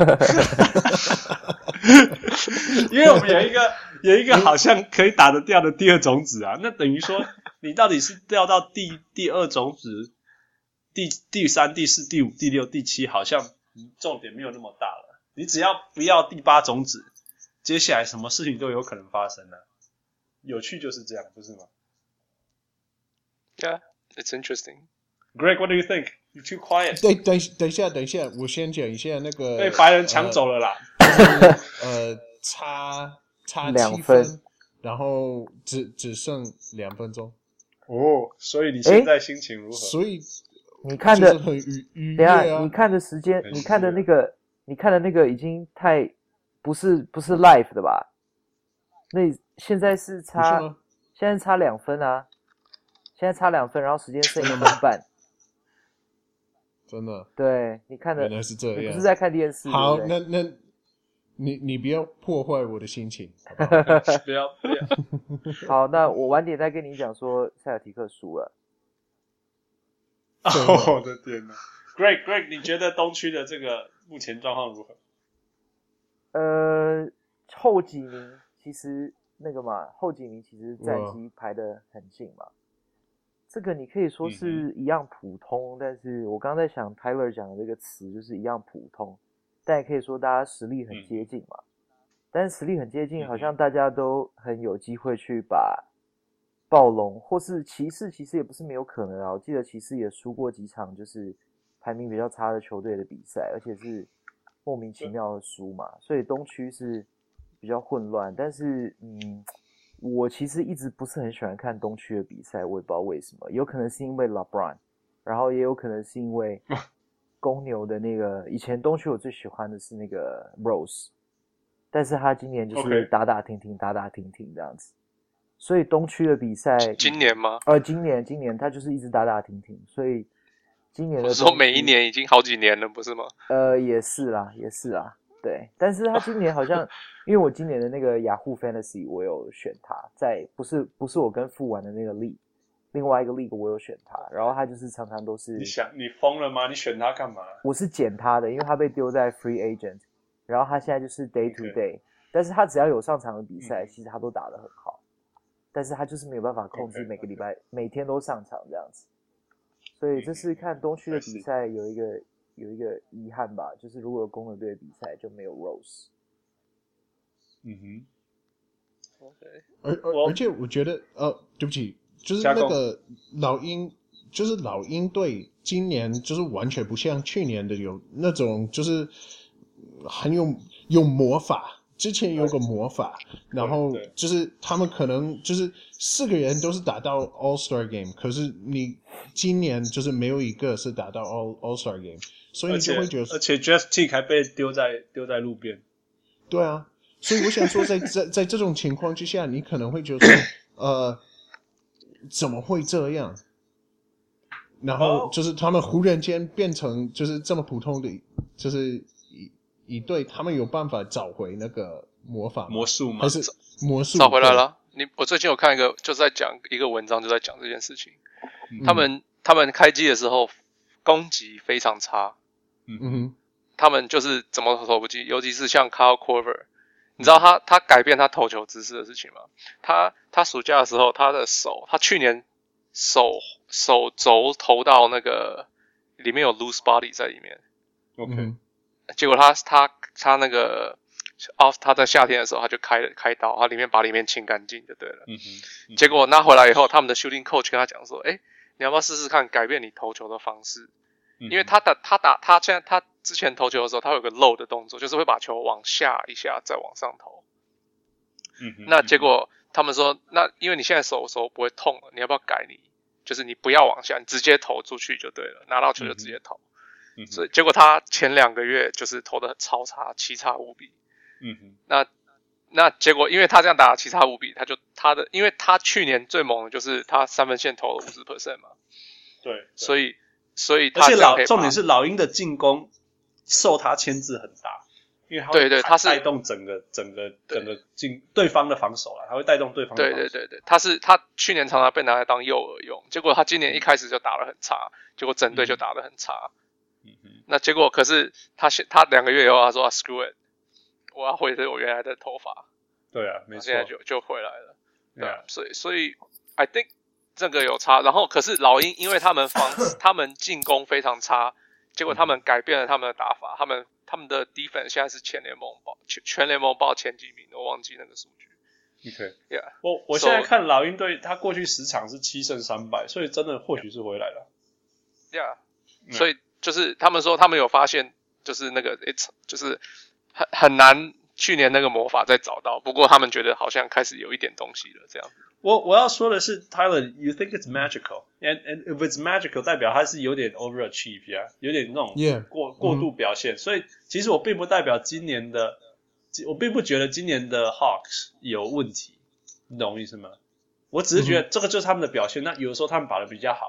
因為我們有一個有一個好像可以打得掉的第二種子啊，那等於說你到底是掉到第第二種子、第第三、第四、第五、第六、第七，好像重點沒有那麼大了。你只要不要第八種子，接下來什麼事情都有可能發生啊。有趣就是這樣，不是嗎 ？Yeah, it's interesting. Greg, what do you think? You're too quiet. 等等等一下，等一下，我先講一下那個被白人搶走了啦。 呃，呃差差七分， 分然後只只剩兩分鐘。 哦，所以你現在心情如何？ 所以你看的很愉愉悅啊。 等一下， 你看的時間，你看的那個，你看的那個已經太不是不是 live 的吧？那現在是差，是現在差兩分啊！現在差兩分，然後時間剩一分半。 真的。 對，你看的原來是這樣， 你不是在看電視。 好， 對對那那你你不要破壞我的心情，好不好？ 不要不要。 好，那我晚點再跟你講說塞爾提克輸了。 哦，我的天哪 ！Greg Greg， 你覺得東區的這個目前狀況如何？ 呃，後幾名其實那個嘛，後幾名其實戰績排得很近嘛。這個你可以說是一樣普通，嗯、但是我剛剛在想 Tyler 講的這個詞就是一樣普通，但也可以說大家實力很接近嘛。嗯、但是實力很接近，好像大家都很有機會去把暴龍或是騎士，其實也不是沒有可能啊。我記得騎士也輸過幾場，就是排名比較差的球隊的比賽，而且是莫名其妙的輸嘛。所以東區是比較混亂，但是嗯。我其實一直不是很喜歡看東區的比賽，我也不知道為什麼，有可能是因為 LeBron， 然後也有可能是因為公牛的那個，以前東區我最喜歡的是那個 Rose， 但是他今年就是打打停停，打打停停這樣子，所以東區的比賽今年嗎？ 呃，今年今年他就是一直打打停停，所以今年的我說每一年已經好幾年了，不是嗎？ 呃，也是啦，也是啦。對，但是他今年好像，因為我今年的那個雅虎 Fantasy 我有選他，在不是不是我跟富玩的那個 League， 另外一個 League 我有選他，然後他就是常常都是。你想你瘋了嗎？你選他幹嘛？ 我是撿他的，因為他被丟在 Free Agent， 然後他現在就是 Day to Day， 但是他只要有上場的比賽，嗯、其實他都打得很好，但是他就是沒有辦法控制每個禮拜 okay, okay. 每天都上場這樣子，所以這是看東區的比賽有一個。有一個遺憾吧，就是如果有公牛隊的比賽就沒有 Rose。 嗯哼 ，OK， 而而而且我覺得，呃，對不起，就是那個老鷹，就是老鷹隊今年就是完全不像去年的有那種就是很有有魔法。之前有個魔法，然後就是他們可能就是四個人都是打到 All Star Game， 可是你今年就是沒有一個是打到 All All Star Game， 所以你就會覺得， 而且 Jeff Teague 還被丟在丟在路邊。 對啊，所以我想說在，在在在這種情況之下，你可能會覺得說，呃，怎麼會這樣？然後就是他們忽然間變成就是這麼普通的，就是。一隊他們有辦法找回那個魔法魔術嗎？ 還是魔術找回來了？你我最近有看一個，就在講一個文章，就在講這件事情。嗯、他們他們開機的時候攻擊非常差， 嗯哼， 他們就是怎麼投不進，尤其是像 Kyle Korver， 你知道他他改變他投球姿勢的事情嗎？他他暑假的時候，他的手，他去年手手肘投到那個裡面有 loose body 在裡面 ，OK。 嗯結果他他他那個哦，他在夏天的時候他就開了開刀，他裡面把裡面清乾淨就對了。 嗯哼嗯、 結果拿回來以後，他們的 shooting coach 跟他講說：“哎，你要不要試試看改變你投球的方式？嗯、因為他打他打他現在他之前投球的時候，他有個 low 的動作，就是會把球往下一下再往上投。 嗯哼那結果他們說，那因為你現在手手不會痛了，你要不要改你？就是你不要往下，你直接投出去就對了，拿到球就直接投。嗯”所以結果他前兩個月就是投的超差，七差五比。 嗯哼。 那那結果因為他這樣打七差五比，他就他的，因為他去年最猛的就是他三分線投了 百分之五十 嘛。 對。對所以所以他而且老重點是老鷹的進攻受他牽制很大，因為他會對對他是帶動整個整個整個進對方的防守啦，他會帶動對方的防守。 對對對對，他是他去年常常被拿來當誘餌用，結果他今年一開始就打得很差，結果整隊就打得很差。嗯嗯哼， 那結果可是他他兩個月以後他說、啊、screw it， 我要回我原來的頭髮。 對啊，沒錯， 現在就就回來了。對啊， yeah. 所以所以 I think 這個有差。然後可是老鷹因為他們防他們進攻非常差，結果他們改變了他們的打法，他們他們的 defense 現在是全聯盟報全全聯盟報前幾名，我忘記那個數據。 OK，yeah， 我我現在看老鷹隊，他過去十場是七勝三敗，所以真的或許是回來了。 Yeah， 所以。就是他們說，他們有發現，就是那個 it's 就是很很難，去年那個魔法再找到。不過他們覺得好像開始有一點東西了，這樣。 我我要說的是 ，Tyler，you think it's magical？And and if it's magical，代表它是有點 overachieve 呀、啊，有點那種過 yeah. 過度表現。Mm-hmm. 所以其實我並不代表今年的，我並不覺得今年的 Hawks 有問題，你懂我意思嗎？我只是覺得這個就是他們的表現。那有的時候他們打得比較好。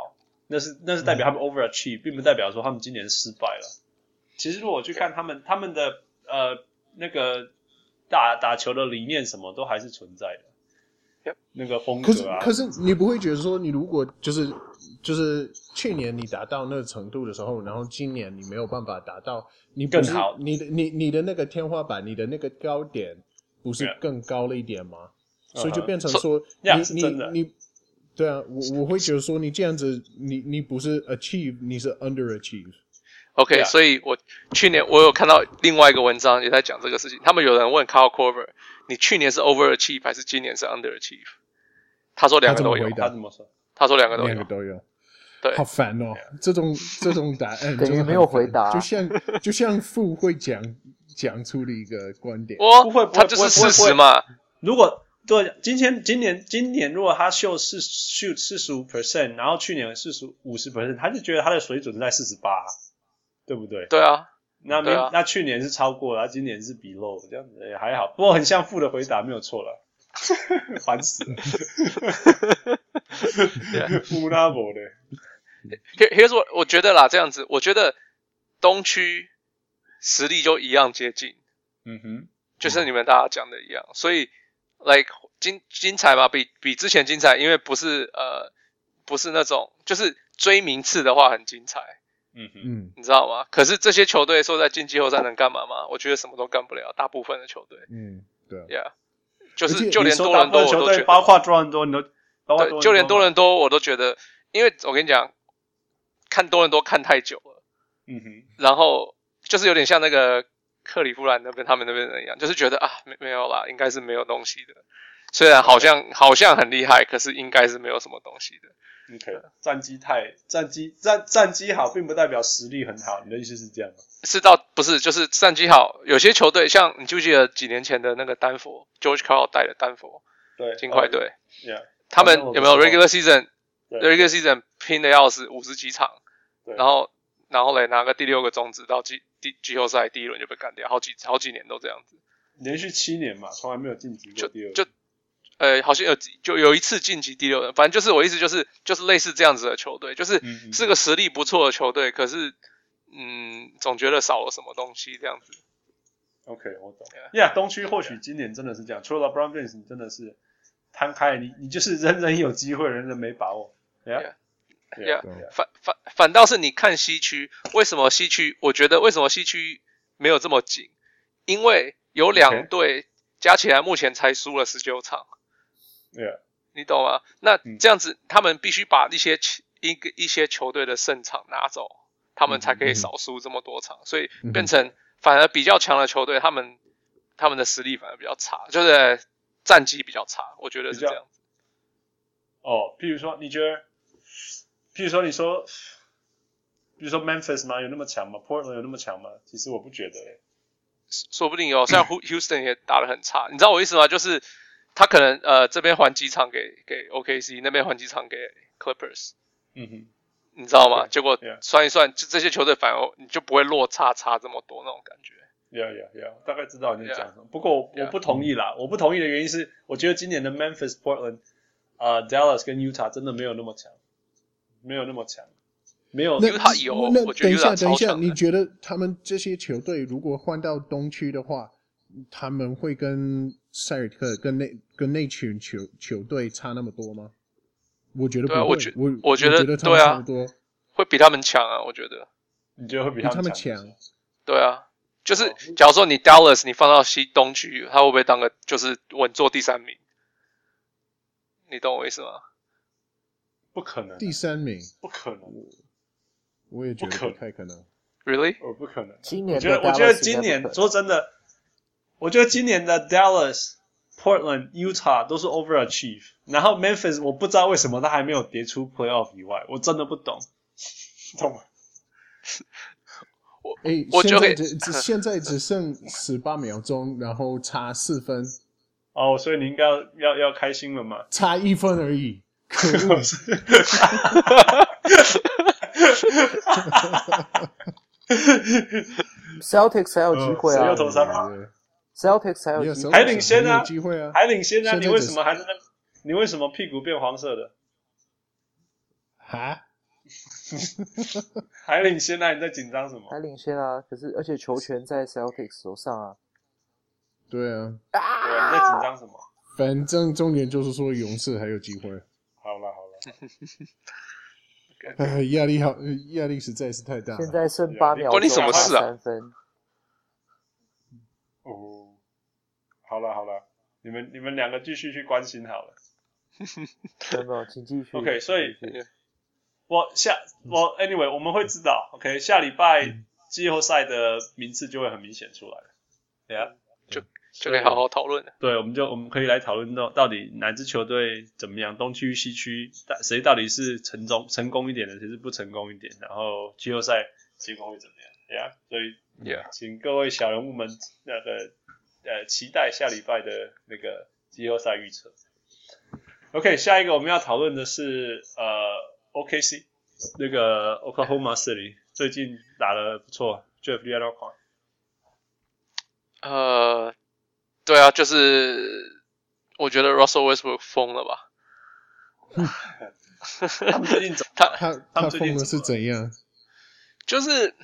那是那是代表他們 overachieve，、嗯、並不代表說他們今年失敗了。其實如果我去看他們他們的呃那個打打球的理念什麼都還是存在的。那個風格啊， 可是可是你不會覺得說，你如果就是就是去年你達到那個程度的時候，然後今年你沒有辦法達到，你不是更好， 你的你你的那個天花板，你的那個高點不是更高了一點嗎？ Yeah. 所以就變成說， uh-huh. 你 so, 你 yeah, 你，你，對啊，我我會覺得說，你這樣子，你你不是 achieve， 你是 underachieve。OK，、 yeah. 所以我去年我有看到另外一個文章也在講這個事情，他們有人問 Kyle Korver。你去年是 overachieve 還是今年是 underachieve？ 他說兩個都有。 他怎麼說？ 他說兩個都有。 兩個都有。 對， 好煩哦！這種這種答案等於沒有回答， 就像就像父會講講出的一個觀點。 我不會， 他就是事實嘛。 如果對今天今年今年如果他秀四 shoot 四十五 percent， 然後去年四十五十 percent， 他就覺得他的水準在四十八，對不對？ 對啊。 那明、啊、那去年是超過了，他今年是 below， 這樣子也還好，不過很像負的回答沒有錯了，煩死了。烏拉伯的 ，Here's what 我覺得啦，這樣子，我覺得東區實力就一樣接近， 嗯哼， 就是你們大家講的一樣，所以 like 精精彩嘛，比比之前精彩，因為不是呃不是那種就是追名次的話很精彩。 嗯哼， 你知道嗎？可是這些球隊說在進季後賽能幹嘛嗎？我覺得什麼都幹不了。大部分的球隊， 嗯，對 ，Yeah， 就是就連多倫多我都覺得， 包括多倫多，你都， 對，就連多倫多我都覺得，因為我跟你講，看多倫多看太久了， 嗯哼， 然後就是有點像那個克里夫蘭那邊他們那邊人一樣，就是覺得啊，沒沒有啦，應該是沒有東西的。雖然好像好像很厲害，可是應該是沒有什麼東西的。 OK， 戰績太戰績戰戰績好，並不代表實力很好。你的意思是這樣嗎？ 是到不是，就是戰績好。有些球隊像你記不記得幾年前的那個丹佛 ，George Karl 帶的丹佛， 對， 金塊隊， yeah, 他們有沒有 regular season？regular season 拼的要死，五十幾場，然後然後嘞拿個第六個種子到季季季後賽第一輪就被幹掉，好幾好幾年都這樣子， 連續七年嘛，從來沒有晉級過第二輪。 就就呃，好像有就有一次晉級第六人，反正就是我意思就是就是類似這樣子的球隊，就是是個實力不錯的球隊，可是嗯，總覺得少了什麼東西這樣子。 OK， 我懂。Yeah， 東區或許今年真的是這樣，除了 LeBron James， 你真的是攤開，你你就是人人有機會，人人沒把握。Yeah， yeah, yeah. 反反反倒是你看西區，為什麼西區？我覺得為什麼西區沒有這麼緊？因為有兩隊加起來目前才輸了十九場。 Yeah. 你懂嗎？那這樣子，他們必須把一些一個一些球隊的勝場拿走，他們才可以少輸這麼多場，所以變成反而比較強的球隊，他們他們的實力反而比較差，就是戰績比較差，我覺得是這樣子。 哦，譬如說，你覺得，譬如說，你說，比如說 Memphis 嗎？有那麼強嗎 ？Portland 有那麼強嗎？其實我不覺得誒。 說不定有，像 Houston 也打得很差，你知道我意思嗎？就是。他可能呃這邊還幾場給給 O K C， 那邊還幾場給 Clippers， 嗯哼， 你知道嗎？ Yeah, 結果 yeah. 算一算，就這些球隊反而你就不會落差差這麼多那種感覺。 Yeah, yeah, yeah， 大概知道你在講什麼。Yeah. 不過我, yeah. 我不同意啦，我不同意的原因是，我覺得今年的 Memphis、Portland、呃 Dallas 跟 Utah 真的沒有那麼強，沒有那麼強，沒有 Utah 有，我覺得 Utah 超強的。 等一下，等一下，你覺得他們這些球隊如果換到東區的話，他們會跟塞爾特跟那跟那群球球隊差那麼多嗎？我覺得不會，我覺我我覺得對啊，會比他們強啊，我覺得。 你覺得會比他們強？ 對啊，就是假如說你 Dallas 你放到西東區，他會不會當個就是穩坐第三名？你懂我意思嗎？ 不可能， 第三名不可能， 我也覺得不太可能。 Really？ 哦，不可能。 今年我覺得，我覺得今年說真的。我覺得今年的 Dallas、Portland、Utah 都是 overachieve， 然後 Memphis 我不知道為什麼他還沒有跌出 playoff 以外，我真的不懂，懂嗎？ 我誒我現在只只現在只剩十八秒鐘，然後差四分。 哦，所以你應該要要要開心了嘛？ 差一分而已，可惡 ！Celtics 還有機會啊！ 誰又投三碼？ Celtics 還有機會， 還領先啊， 機會啊， 還領先啊！你為什麼還在那？你為什麼屁股變黃色的？ 哈？ 還領先啊！你在緊張什麼？ 還領先啊！可是而且球權在 Celtics 手上啊。 對啊。 對啊，你在緊張什麼？ 反正重點就是說勇士還有機會。 好了好了。 哎，壓力好，壓力實在是太大了。 現在剩八秒， 關你什麼事啊？ 三分。 哦，好了好了，你們你們兩個繼續去關心好了。 沒有沒有，請繼續。 OK， 所以我下我 anyway 我們會知道 ，OK， 下禮拜季後賽的名次就會很明顯出來了，對啊， 就就可以好好討論了。 對，我們就我們可以來討論到到底哪支球隊怎麼樣，東區西區誰到底是成功成功一點的，誰是不成功一點，然後季後賽結果會怎麼樣，對啊，所以 yeah， 請各位小人物們那個呃期待下禮拜的那個季後賽預測。OK， 下一個我們要討論的是呃 O K C 那個 Oklahoma City 最近打得不錯 ，Jeff 你要看？ 呃，對啊，就是我覺得 Russell Westbrook 瘋了吧？ 他們最近怎麼他他他瘋的是怎樣？ 就是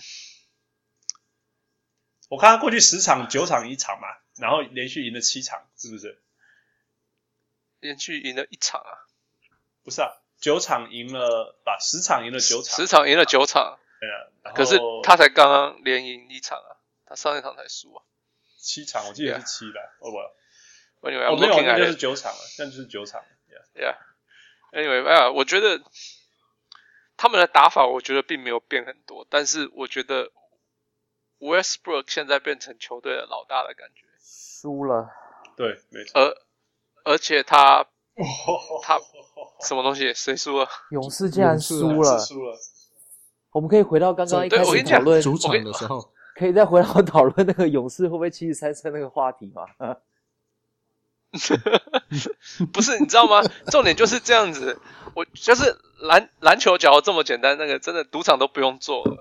我看他過去十場九場一場嘛，然後連續贏了七場，是不是？ 連續贏了一場啊？ 不是啊，九場贏了，把十場贏了九場， 十場贏了九場。 對啊， 可是他才剛剛連贏一場啊，他上一場才輸啊。 七場，我記得是七啦，哦不， Anyway, 哦沒有，那就是九場了，那就是九場了。 Yeah. Anyway, 啊，我覺得他們的打法，我覺得並沒有變很多，但是我覺得 Westbrook 現在變成球隊的老大的感觉。 輸了。 對，沒錯。 而而且他他什麼東西？誰輸了？ 勇士竟然輸了。 輸了。 我們可以回到剛剛一開始討論主場的時候。 可以再回到討論那個勇士會不會七十三勝那個話題嗎？ 不是，你知道嗎？重點就是這樣子。我就是籃籃球，假如這麼簡單，那個真的賭場都不用做了。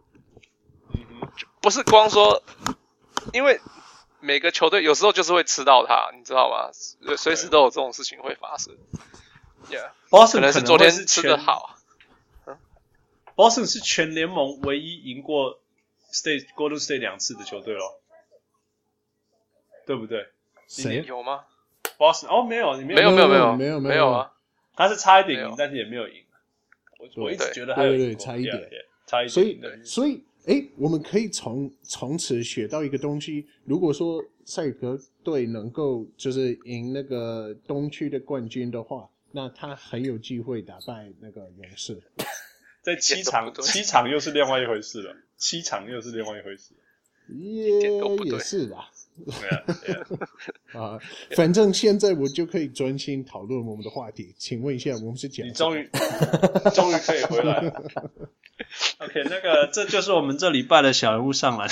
不是光說，因為每個球隊有時候就是會吃到他，你知道嗎？隨時都有這種事情會發生。Yeah， 可能是昨天吃得好。 Boston 是全聯盟唯一贏過 State Golden State 兩次的球隊咯，對不對？ 誰有嗎 ？Boston 哦，沒有，你沒有，沒有，沒有， 沒有， 沒有啊！ 他是差一點贏，但是也沒有贏。我我一直覺得還有對對差一點， yeah, yeah, 差一點。 所以所以哎，我們可以從從此學到一個東西。如果說賽格隊能夠就是贏那個東區的冠軍的話，那他很有機會打敗那個勇士。 在七場，七場又是另外一回事了。七場又是另外一回事， 也也是啦。 对啊，对啊。 啊，反正現在我就可以專心討論我們的話題。請問一下，我們是講？ 你終於，終於可以回來了。OK， 那個，這就是我們這禮拜的小人物上籃。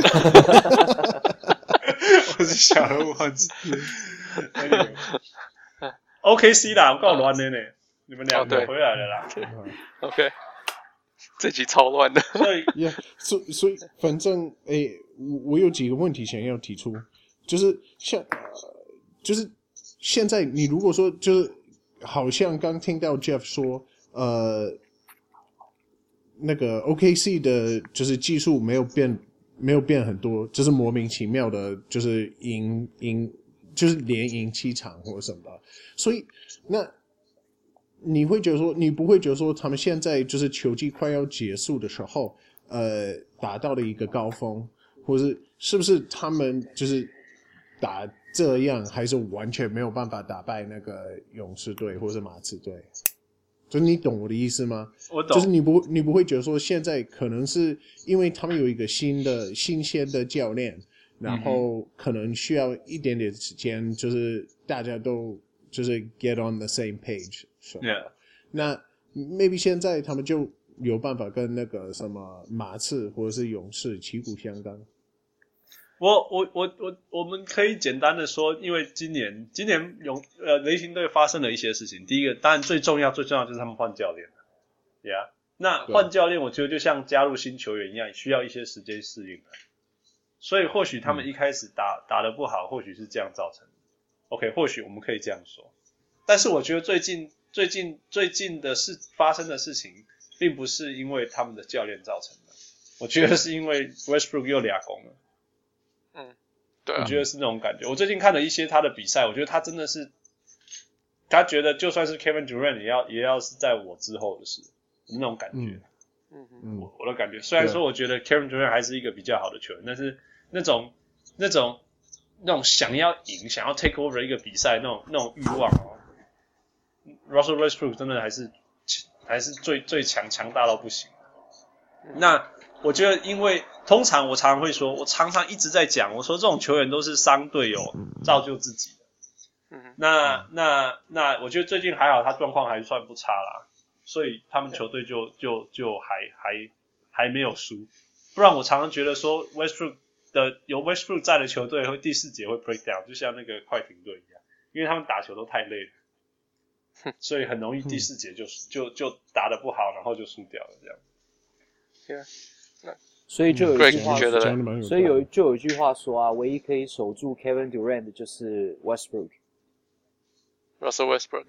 我是小人物漢子。O K C 啦，我夠亂的呢。你們兩個回來了啦。 Oh, OK， 這集超亂的。 所以， yeah, 所以，所以，反正，誒，我我有幾個問題想要提出，就是像，就是現在你如果說，就是好像剛聽到 Jeff 說，呃，那個 O K C 的，就是技術沒有變，沒有變很多，就是莫名其妙的，就是贏贏，就是連贏七場或者什麼的，所以那。你會覺得說，你不會覺得說，他們現在就是球季快要結束的時候，呃，達到了一個高峰，或是是不是他們就是打這樣，還是完全沒有辦法打敗那個勇士隊或是馬刺隊？就你懂我的意思嗎？ 我懂。 就是你不你不會覺得說，現在可能是因為他們有一個新的新鮮的教練，然後可能需要一點點時間，就是大家都就是 get on the same page。So, yeah. 那 maybe 現在他們就有辦法跟那個什麼馬刺或者是勇士旗鼓相當。 我我我我我們可以簡單的說，因為今年今年勇呃雷霆隊發生了一些事情。第一個，當然最重要最重要就是他們換教練了。Yeah， 那換教練我覺得就像加入新球員一樣，需要一些時間適應。所以或許他們一開始打、嗯、打得不好，或許是這樣造成的。OK， 或許我們可以這樣說。但是我覺得最近。最近最近的事發生的事情， 並不是因為他們的教練造成的，我覺得是因為 Westbrook 又倆攻了。 嗯，對啊， 我覺得是那種感覺。我最近看了一些他的比賽，我覺得他真的是，他覺得就算是 Kevin Durant 也要也要是在我之後的事，那種感覺。嗯嗯，我我的感覺，雖然說我覺得 Kevin Durant 還是一個比較好的球員，但是那種那種那種想要贏、想要 take over 一個比賽那種那種慾望哦 ，Russell Westbrook 真的還是還是最最強強大到不行。那我覺得，因為通常我常常會說，我常常一直在講，我說這種球員都是傷隊友造就自己的。嗯，那那那，我覺得最近還好，他狀況還算不差啦，所以他們球隊就就就還還還沒有輸。不然我常常覺得說 ，Westbrook 的有 Westbrook 在的球隊會第四節會 break down， 就像那個快艇隊一樣，因為他們打球都太累了，所以很容易第四節就就就打得不好，然後就輸掉了這樣。 Yeah. 所以就有一句話說， 嗯、 所以有就有一句話說啊，唯一可以守住 Kevin Durant 的就是 Westbrook。Russell Westbrook。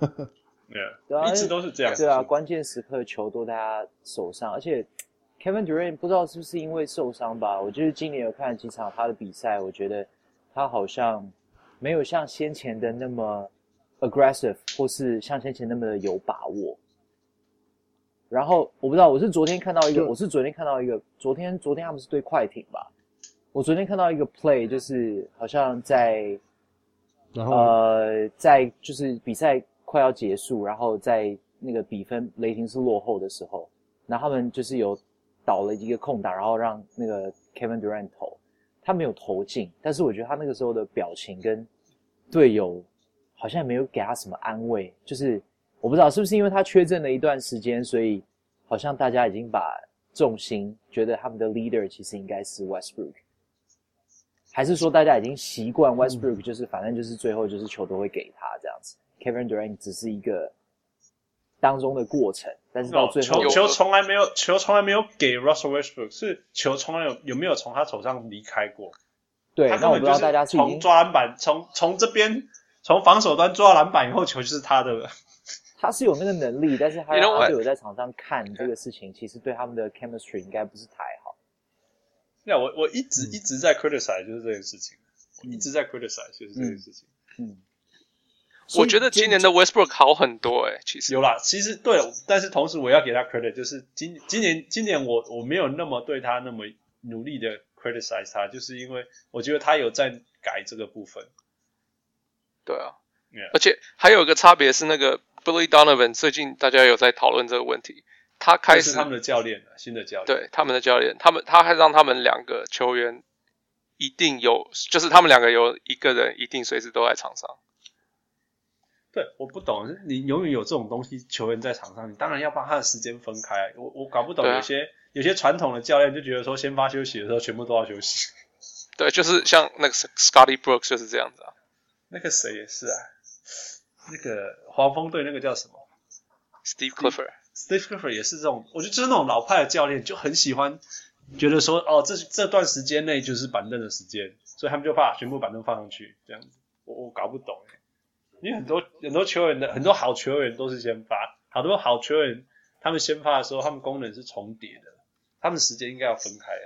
yeah, 對啊， 一直都是這樣。 對啊，關鍵時刻球都在他手上，而且 Kevin Durant 不知道是不是因為受傷吧，我就是今年有看了幾場他的比賽，我覺得他好像沒有像先前的那麼 aggressive， 或是像先前那麼的有把握。然後我不知道，我是昨天看到一個，我是昨天看到一個，昨天昨天他們是对快艇吧？我昨天看到一個 play， 就是好像在， 然後呃，在就是比賽快要結束，然後在那個比分雷霆是落後的時候，然後他們就是有倒了一個空檔，然後讓那個 Kevin Durant 投，他沒有投進，但是我覺得他那個時候的表情跟隊友好像沒有給他什麼安慰，就是。我不知道是不是因為他缺陣了一段時間，所以好像大家已經把重心覺得他們的 leader 其實應該是 Westbrook， 還是說大家已經習慣 Westbrook 就是反正就是最後就是球都會給他這樣子， Kevin Durant 只是一個當中的過程，但是到最後、 no, 球球從來沒有球從來沒有給 Russell Westbrook， 是球從來有有沒有從他手上離開過？ 對，那我不知道大家是從抓籃板從從這邊從防守端抓籃板以後，球就是他的了。 他是有那個能力，但是他要他队友在场上看這個事情，其實對他們的 chemistry 應該不是太好。 那、yeah, 我我一直、嗯、一直在 criticize 就是這件事情，我一直在 criticize 就是這件事情。嗯，嗯我覺得今年的 Westbrook 好很多誒、欸，其實有啦，其實對，但是同時我要給他 credit， 就是今今年今年我我沒有那麼對他那麼努力的 criticize 他，就是因為我覺得他有在改這個部分。 對啊， yeah. 而且還有一個差別是那個。Billy Donovan 最近大家有在討論這個問題，他開始是他們的教練，新的教練， 對他們的教練，他們他還讓他們兩個球員一定有，就是他們兩個有一個人一定隨時都在場上。 對，我不懂，你永遠有這種東西，球員在場上，你當然要幫他的時間分開。我我搞不懂，有些、啊、有些傳統的教練就覺得說，先發休息的時候全部都要休息。 對，就是像那個 Scotty Brooks 就是這樣子啊。 那個誰也是啊。那個黃蜂隊那個叫什麼 ？Steve Clifford。Steve Clifford 也是這種，我覺得就是那種老派的教練，就很喜歡覺得說，哦，這這段時間內就是板凳的時間，所以他們就把全部板凳放上去，這樣子。我我搞不懂哎，因為很多很多球員的很多好球員都是先發，好多好球員他們先發的時候，他們功能是重疊的，他們時間應該要分開啊。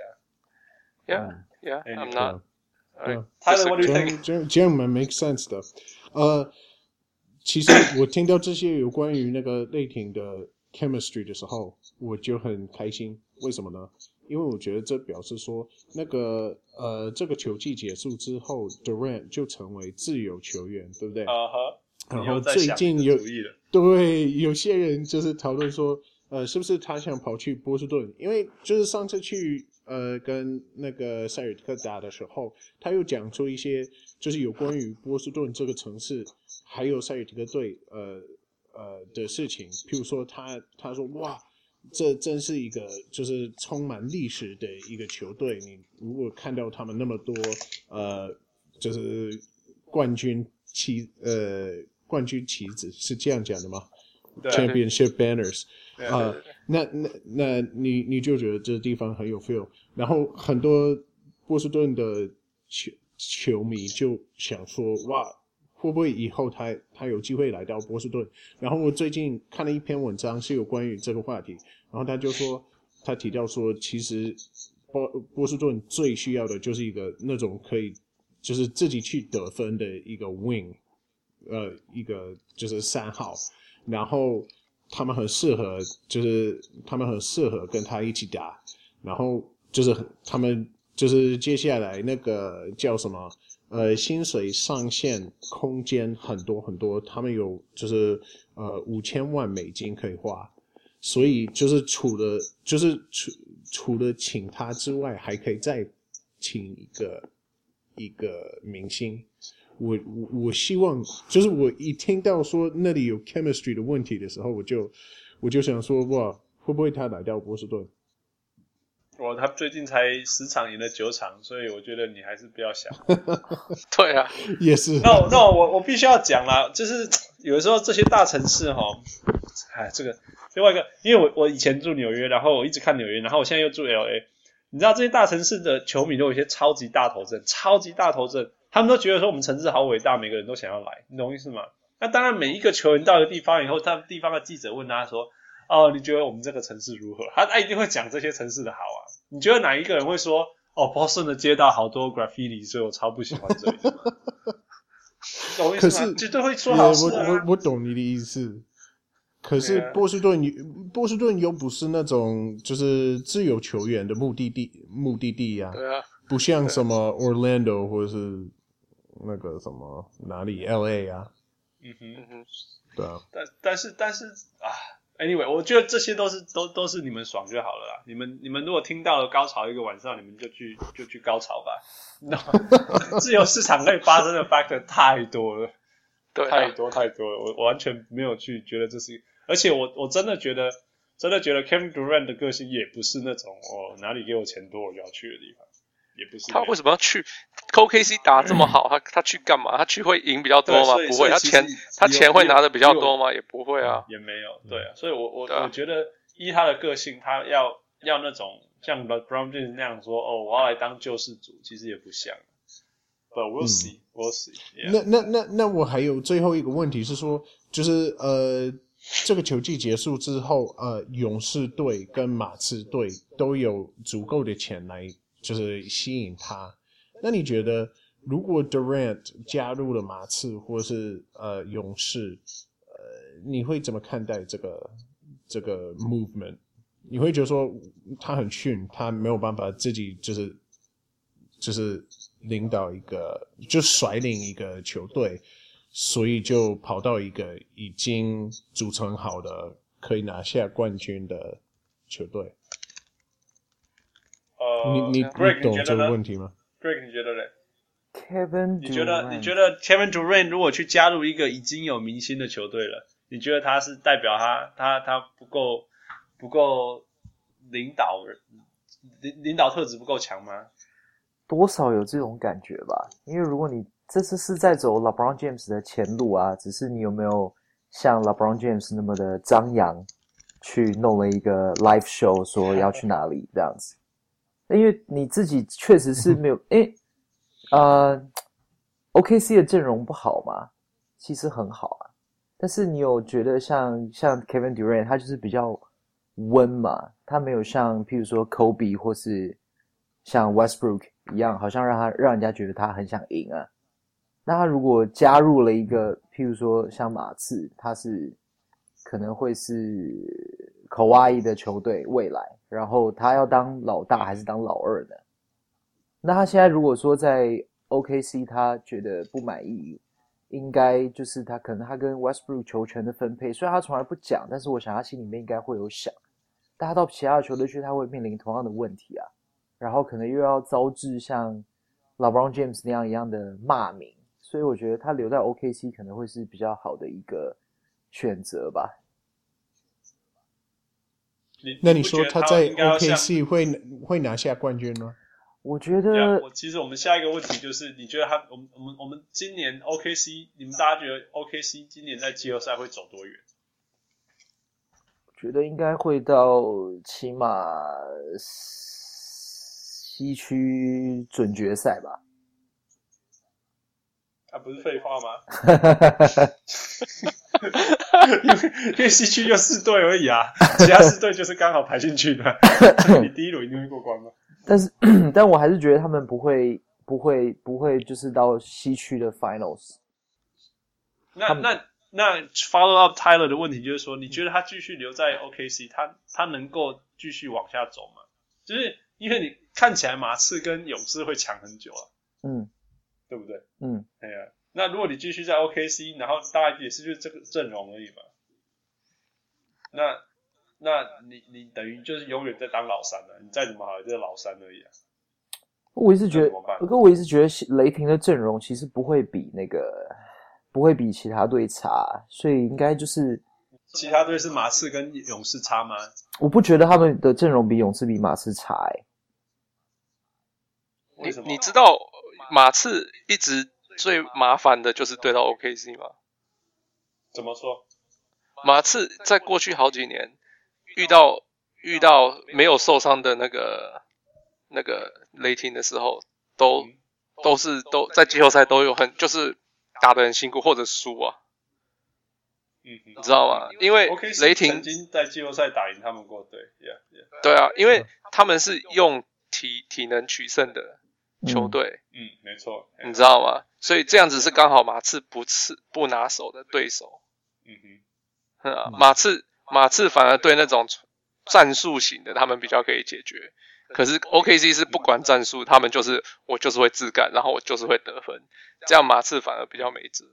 Yeah, yeah, I'm not. Tyler, what do you think? 這樣這樣蠻 make sense 的，呃。其實我聽到這些有關於那個雷霆的 chemistry 的時候，我就很開心。為什麼呢？因為我覺得這表示說，那個呃，這個球季結束之後 ，Durant 就成為自由球員，對不對？啊哈。然後最近有對有些人就是討論說，呃，是不是他想跑去波士頓？因為就是上次去呃跟那個塞爾提克打的時候，他又講出一些就是有關於波士頓這個城市。還有塞爾提克隊，呃呃的事情，譬如說他他說哇，這真是一個就是充滿歷史的一個球隊。你如果看到他們那麼多呃，就是冠軍旗呃冠軍旗子是這樣講的嗎？對 Championship banners 啊、呃，那那那你你就覺得這個地方很有 feel， 然後很多波士頓的球球迷就想說哇。 會不會以後他他有機會來到波士頓？然後我最近看了一篇文章是有關於這個話題，然後他就說他提到說，其實波波士頓最需要的就是一個那種可以就是自己去得分的一個 wing， 呃，一個就是三號，然後他們很適合，就是他們很適合跟他一起打，然後就是他們就是接下來那個叫什麼？呃，薪水上限空間很多很多，他們有就是呃五千萬美金可以花，所以就是除了就是除除了請他之外，還可以再請一個一個明星。我我我希望就是我一聽到說那裡有 chemistry 的問題的時候，我就我就想說哇，會不會他來到波士頓？ 我他最近才十場贏了九場，所以我覺得你還是不要想。 對啊， 也是。 那那我我必須要講啦，就是有的時候這些大城市哈，哎，這個另外一個，因為我我以前住紐約，然後我一直看紐約，然後我現在又住 L A， 你知道這些大城市的球迷都有一些超級大頭症，超級大頭症，他們都覺得說我們城市好偉大，每個人都想要來，你懂意思嗎？那當然，每一個球員到一個地方以後，他們地方的記者問他說，哦，你覺得我們這個城市如何？他他一定会講這些城市的好啊。你覺得哪一個人會說，哦，波士頓的街道好多 graffiti， 所以我超不喜歡這裡？懂我意思嗎？絕對會說好事啊。 我我我懂你的意思。可是波士頓，波士頓又不是那種就是自由球員的目的地目的地啊。 對啊。不像什麼 Orlando 或者是那個什麼哪裡 L A 啊。 嗯哼， 對啊。 但但是但是啊。Anyway， 我覺得這些都是都都是你們爽就好了啦。你們你們如果聽到了高潮一個晚上，你們就去就去高潮吧。No, 自由市場可以發生的 factor 太多了， 對啊， 太多太多了。我我完全沒有去覺得這是，而且我我真的覺得真的覺得 Kevin Durant 的個性也不是那種哦哪裡給我錢多我就要去的地方，也不是。 他為什麼要去 O K C 打這麼好？他他去幹嘛？他去會贏比較多嗎？不會。他錢他錢會拿的比較多嗎？也不會啊。 也沒有，對啊。所以我我、啊、我覺得依他的個性，他要要那種像 LeBron James 那樣說，哦，我要來當救世主，其實也不像。But we'll see,、嗯、we'll see. Yeah. 那那那那我還有最後一個問題是說，就是呃，這個球季結束之後，呃，勇士隊跟馬刺隊都有足夠的錢來就是吸引他。那你覺得，如果 Durant 加入了馬刺或是呃勇士，呃，你會怎麼看待這個這個 movement？ 你會覺得說他很遜，他沒有辦法自己就是就是領導一個，就率領一個球隊，所以就跑到一個已經組成好的可以拿下冠軍的球隊？ 呃， 你你你懂這個問題嗎？ Greg， 你覺得嘞 ？Kevin Durant， 你覺得你覺得 Kevin Durant 如果去加入一個已經有明星的球隊了，你覺得他是代表他他他不夠不夠領導領領導特質不夠強嗎？ 多少有這種感覺吧，因為如果你這次是在走 LeBron James 的前路啊，只是你有沒有像 LeBron James 那麼的張揚，去弄了一個 live show 說要去哪裡這樣子。因為你自己確實是沒有，誒，呃 ，O K C 的陣容不好嘛，其實很好啊，但是你有覺得像像 Kevin Durant 他就是比較溫嘛，他沒有像譬如說 Kobe 或是像 Westbrook 一樣，好像讓他讓人家覺得他很想贏啊。那他如果加入了一個譬如說像馬刺，他是可能會是Kawhi的球隊未來，然後他要當老大還是當老二呢？那他現在如果說在 O K C 他覺得不滿意，應該就是他可能他跟 Westbrook 球權的分配，雖然他從來不講，但是我想他心裡面應該會有想，但他到其他的球隊去，他會面臨同樣的問題啊，然後可能又要遭致像 LeBron James 那樣一樣的罵名，所以我覺得他留在 O K C 可能會是比較好的一個選擇吧。 你那你說他在 O K C 會會拿下冠軍嗎？ 我覺得， yeah, 我其實我們下一個問題就是，你覺得他，我們我們我們今年 O K C， 你們大家覺得 O K C 今年在季後賽會走多遠？ 我覺得應該會到起碼西區準決賽吧。 啊，不是廢話嗎？因為因為西區就四隊而已啊，其他四隊就是剛好排進去的，所以你第一輪一定會過關嘛。 但是，但我還是覺得他們不會，不會，不會，就是到西區的 Finals。 那那那 follow up Tyler 的問題就是說，你覺得他繼續留在 O K C， 他他能夠繼續往下走嗎？就是因為你看起來馬刺跟勇士會強很久啊， 嗯， 對不對？ 嗯， 對啊。那如果你繼續在 O K C， 然後大概也是就是這個陣容而已嘛。那那你你等於就是永遠在當老三了，你再怎麼好也就是老三而已啊。 我一直覺得，可我一直覺得雷霆的陣容其實不會比那個不會比其他隊差，所以應該就是其他隊是馬刺跟勇士差嗎？ 我不覺得他們的陣容比勇士比馬刺差哎、 欸。你你知道馬刺一直最麻煩的就是對到 O K C 嗎？ 怎麼說？ 馬刺在過去好幾年遇到遇到沒有受傷的那個那個雷霆的時候，都、嗯、都是都在季後賽都有很就是打得很辛苦或者輸啊。 嗯， 你知道嗎？因為雷霆曾經在季後賽打贏他們過，對 ，yeah, yeah. 對啊，因為他們是用體體能取勝的球隊， 嗯，嗯，沒錯， 你知道嗎？所以這樣子是剛好馬刺不刺不拿手的對手， 嗯哼。 啊、馬刺馬刺反而對那種戰術型的他們比較可以解決，可是 O K C 是不管戰術，他們就是我就是會自幹，然後我就是會得分，這樣馬刺反而比較沒轍。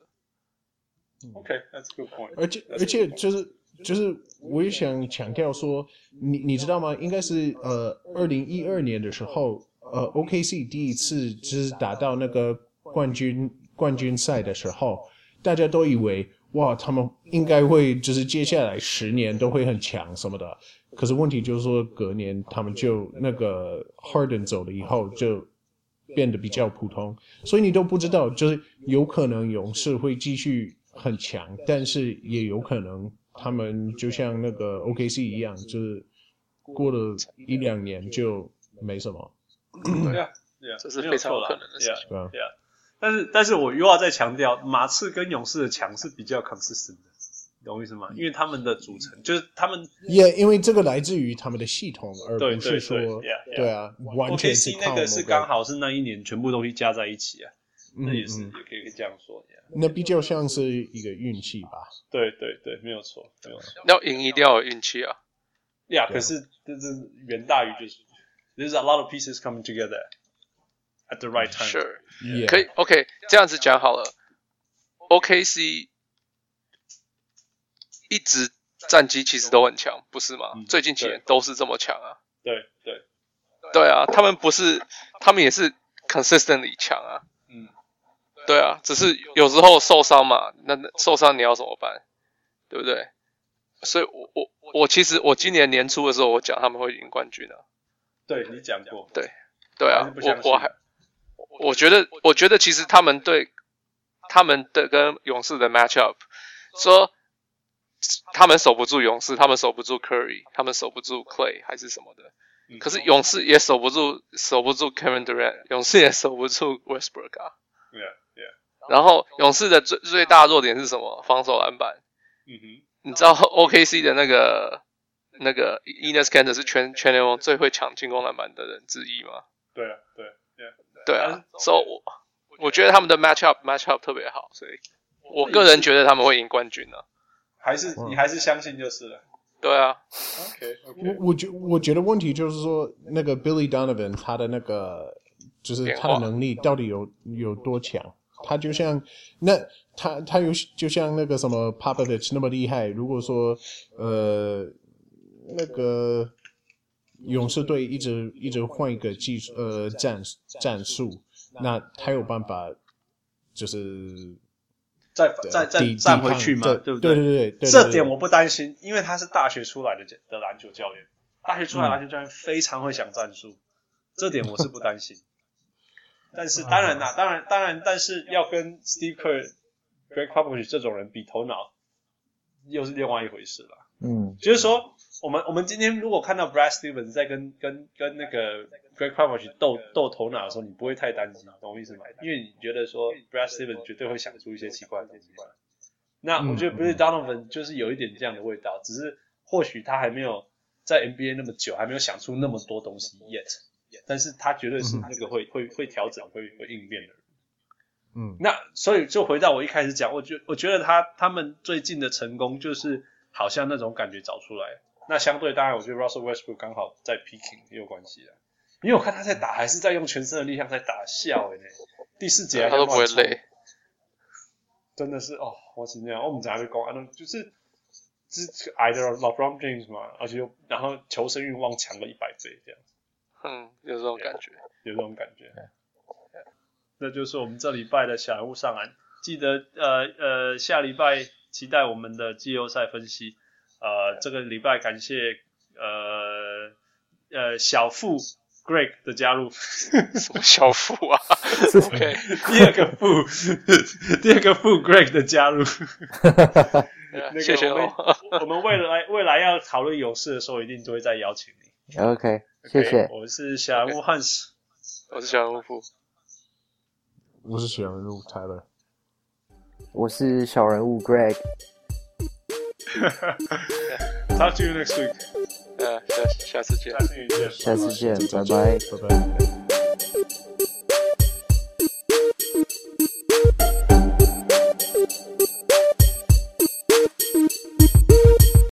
OK, that's a good point. 而且而且就是就是我也想強調說，你你知道嗎？應該是呃二零一二年的時候，呃 O K C 第一次就是打到那個冠軍冠軍賽的時候，大家都以為。哇，他們應該會就是接下來十年都會很強什麼的，可是問題就是說隔年他們就那個 Harden 走了以後就變得比較普通，所以你都不知道，就是有可能勇士會繼續很強，但是也有可能他們就像那個 O K C 一樣，就是過了一兩年就沒什麼。 對啊，對啊， 這是非常有可能的事情。 對啊，對啊。但是，但是我又要再強調，馬刺跟勇士的強是比較 consistent 的，懂我意思嗎？因為他們的組成就是他們， 也、yeah, 因為這個來自於他們的系統，而不是說， 對對對 yeah, yeah. 對啊，完全是 O K C 那個是剛好是那一年全部東西加在一起啊，嗯、那也是、嗯、也可以這樣說。Yeah. 那比較像是一個運氣吧？對對對，沒有錯，沒有錯。 要贏一定要有運氣啊。 呀、yeah, 可是這是遠大於就是 ，there's a lot of pieces coming together at the right time. Sure. Yeah. 可以 ，OK， 這樣子講好了。O K C 一直戰績其實都很強，不是嗎？嗯、最近幾年都是這麼強啊。 對對對啊，他們不是，他們也是 consistently 強啊。 嗯， 對啊，只是有時候受傷嘛，那受傷你要怎麼辦？對不對？所以我我我其實我今年年初的時候，我講他們會贏冠軍啊。 對，你講過。 對對啊，我我還。我覺得，我覺得其實他們對他們的跟勇士的 matchup， 說他們守不住勇士，他們守不住 Curry， 他們守不住 Clay 還是什麼的。可是勇士也守不住，守不住 Kevin Durant， 勇士也守不住 Westbrook 啊。 Yeah, yeah. 然後勇士的最最大弱點是什麼？防守籃板。 嗯哼。 你知道 O K C 的那個那個 Enes Kanter 是全全聯盟最會搶進攻籃板的人之一嗎？ 對啊，對。 對啊，所以我我覺得他們的 matchup matchup 特別好，所以我個人覺得他們會贏冠軍呢、啊。 還是你還是相信就是了。 對啊。 OK OK。 我我覺我覺得問題就是說，那個 Billy Donovan 他的那個就是他的能力到底有有多強？他就像那他他有就像那個什麼 Popovich 那麼厲害。如果說呃那個。勇士隊一直一直換一個技術呃戰戰術，那他有辦法就是再再再站回去嗎？對不對？ 對對對對， 這點我不擔心，因為他是大學出來的的籃球教練，大學出來的籃球教練非常會想戰術，嗯、這點我是不擔心。但是當然啦，當然當然，但是要跟 Steve Kerr、Greg Popovich 這種人比頭腦，又是另外一回事了。 嗯， 就是說。 我們我們今天如果看到 Brad Stevens 在跟跟跟那個 Greg Popovich 鬥鬥頭腦的時候，你不會太擔心，懂我意思嗎？因為你覺得說 Brad Stevens 絕對會想出一些奇怪的東西。那我覺得 Billy Donovan 就是有一點這樣的味道，只是或許他還沒有在 N B A 那麼久，還沒有想出那麼多東西 yet， 但是他絕對是那個會會會調整、會會應變的人。 嗯， 那所以就回到我一開始講，我覺我覺得他他們最近的成功就是好像那種感覺找出來。那相對當然，我覺得 Russell Westbrook 剛好在 peaking 也有關係啦，因為我看他在打還是在用全身的力量在打，笑誒、欸、第四節他都不會累。 真的是哦，我是那樣，我們在那邊講，就是就是矮的 LeBron James 嘛，而且又然後求生欲望強了一百倍這樣。 嗯，有這種感覺， 有這種感覺。那就是我們這禮拜的小人物上籃，記得呃呃下禮拜期待我們的季後賽分析。呃，這個禮拜感謝呃呃小富 Greg 的加入。 什麼小富啊？OK， 第二個富，第二個富 Greg 的加入。那個、 謝謝哦。 我們未來未來要討論勇士的時候，一定都會再邀請你。 OK， okay 謝謝。 我是小人物 Hans， 我是小人物富， 我是小人物 Tyler， 我是小人物 Greg。 Talk to you next week. 呃，下下次見。 下次見，拜拜， 拜拜。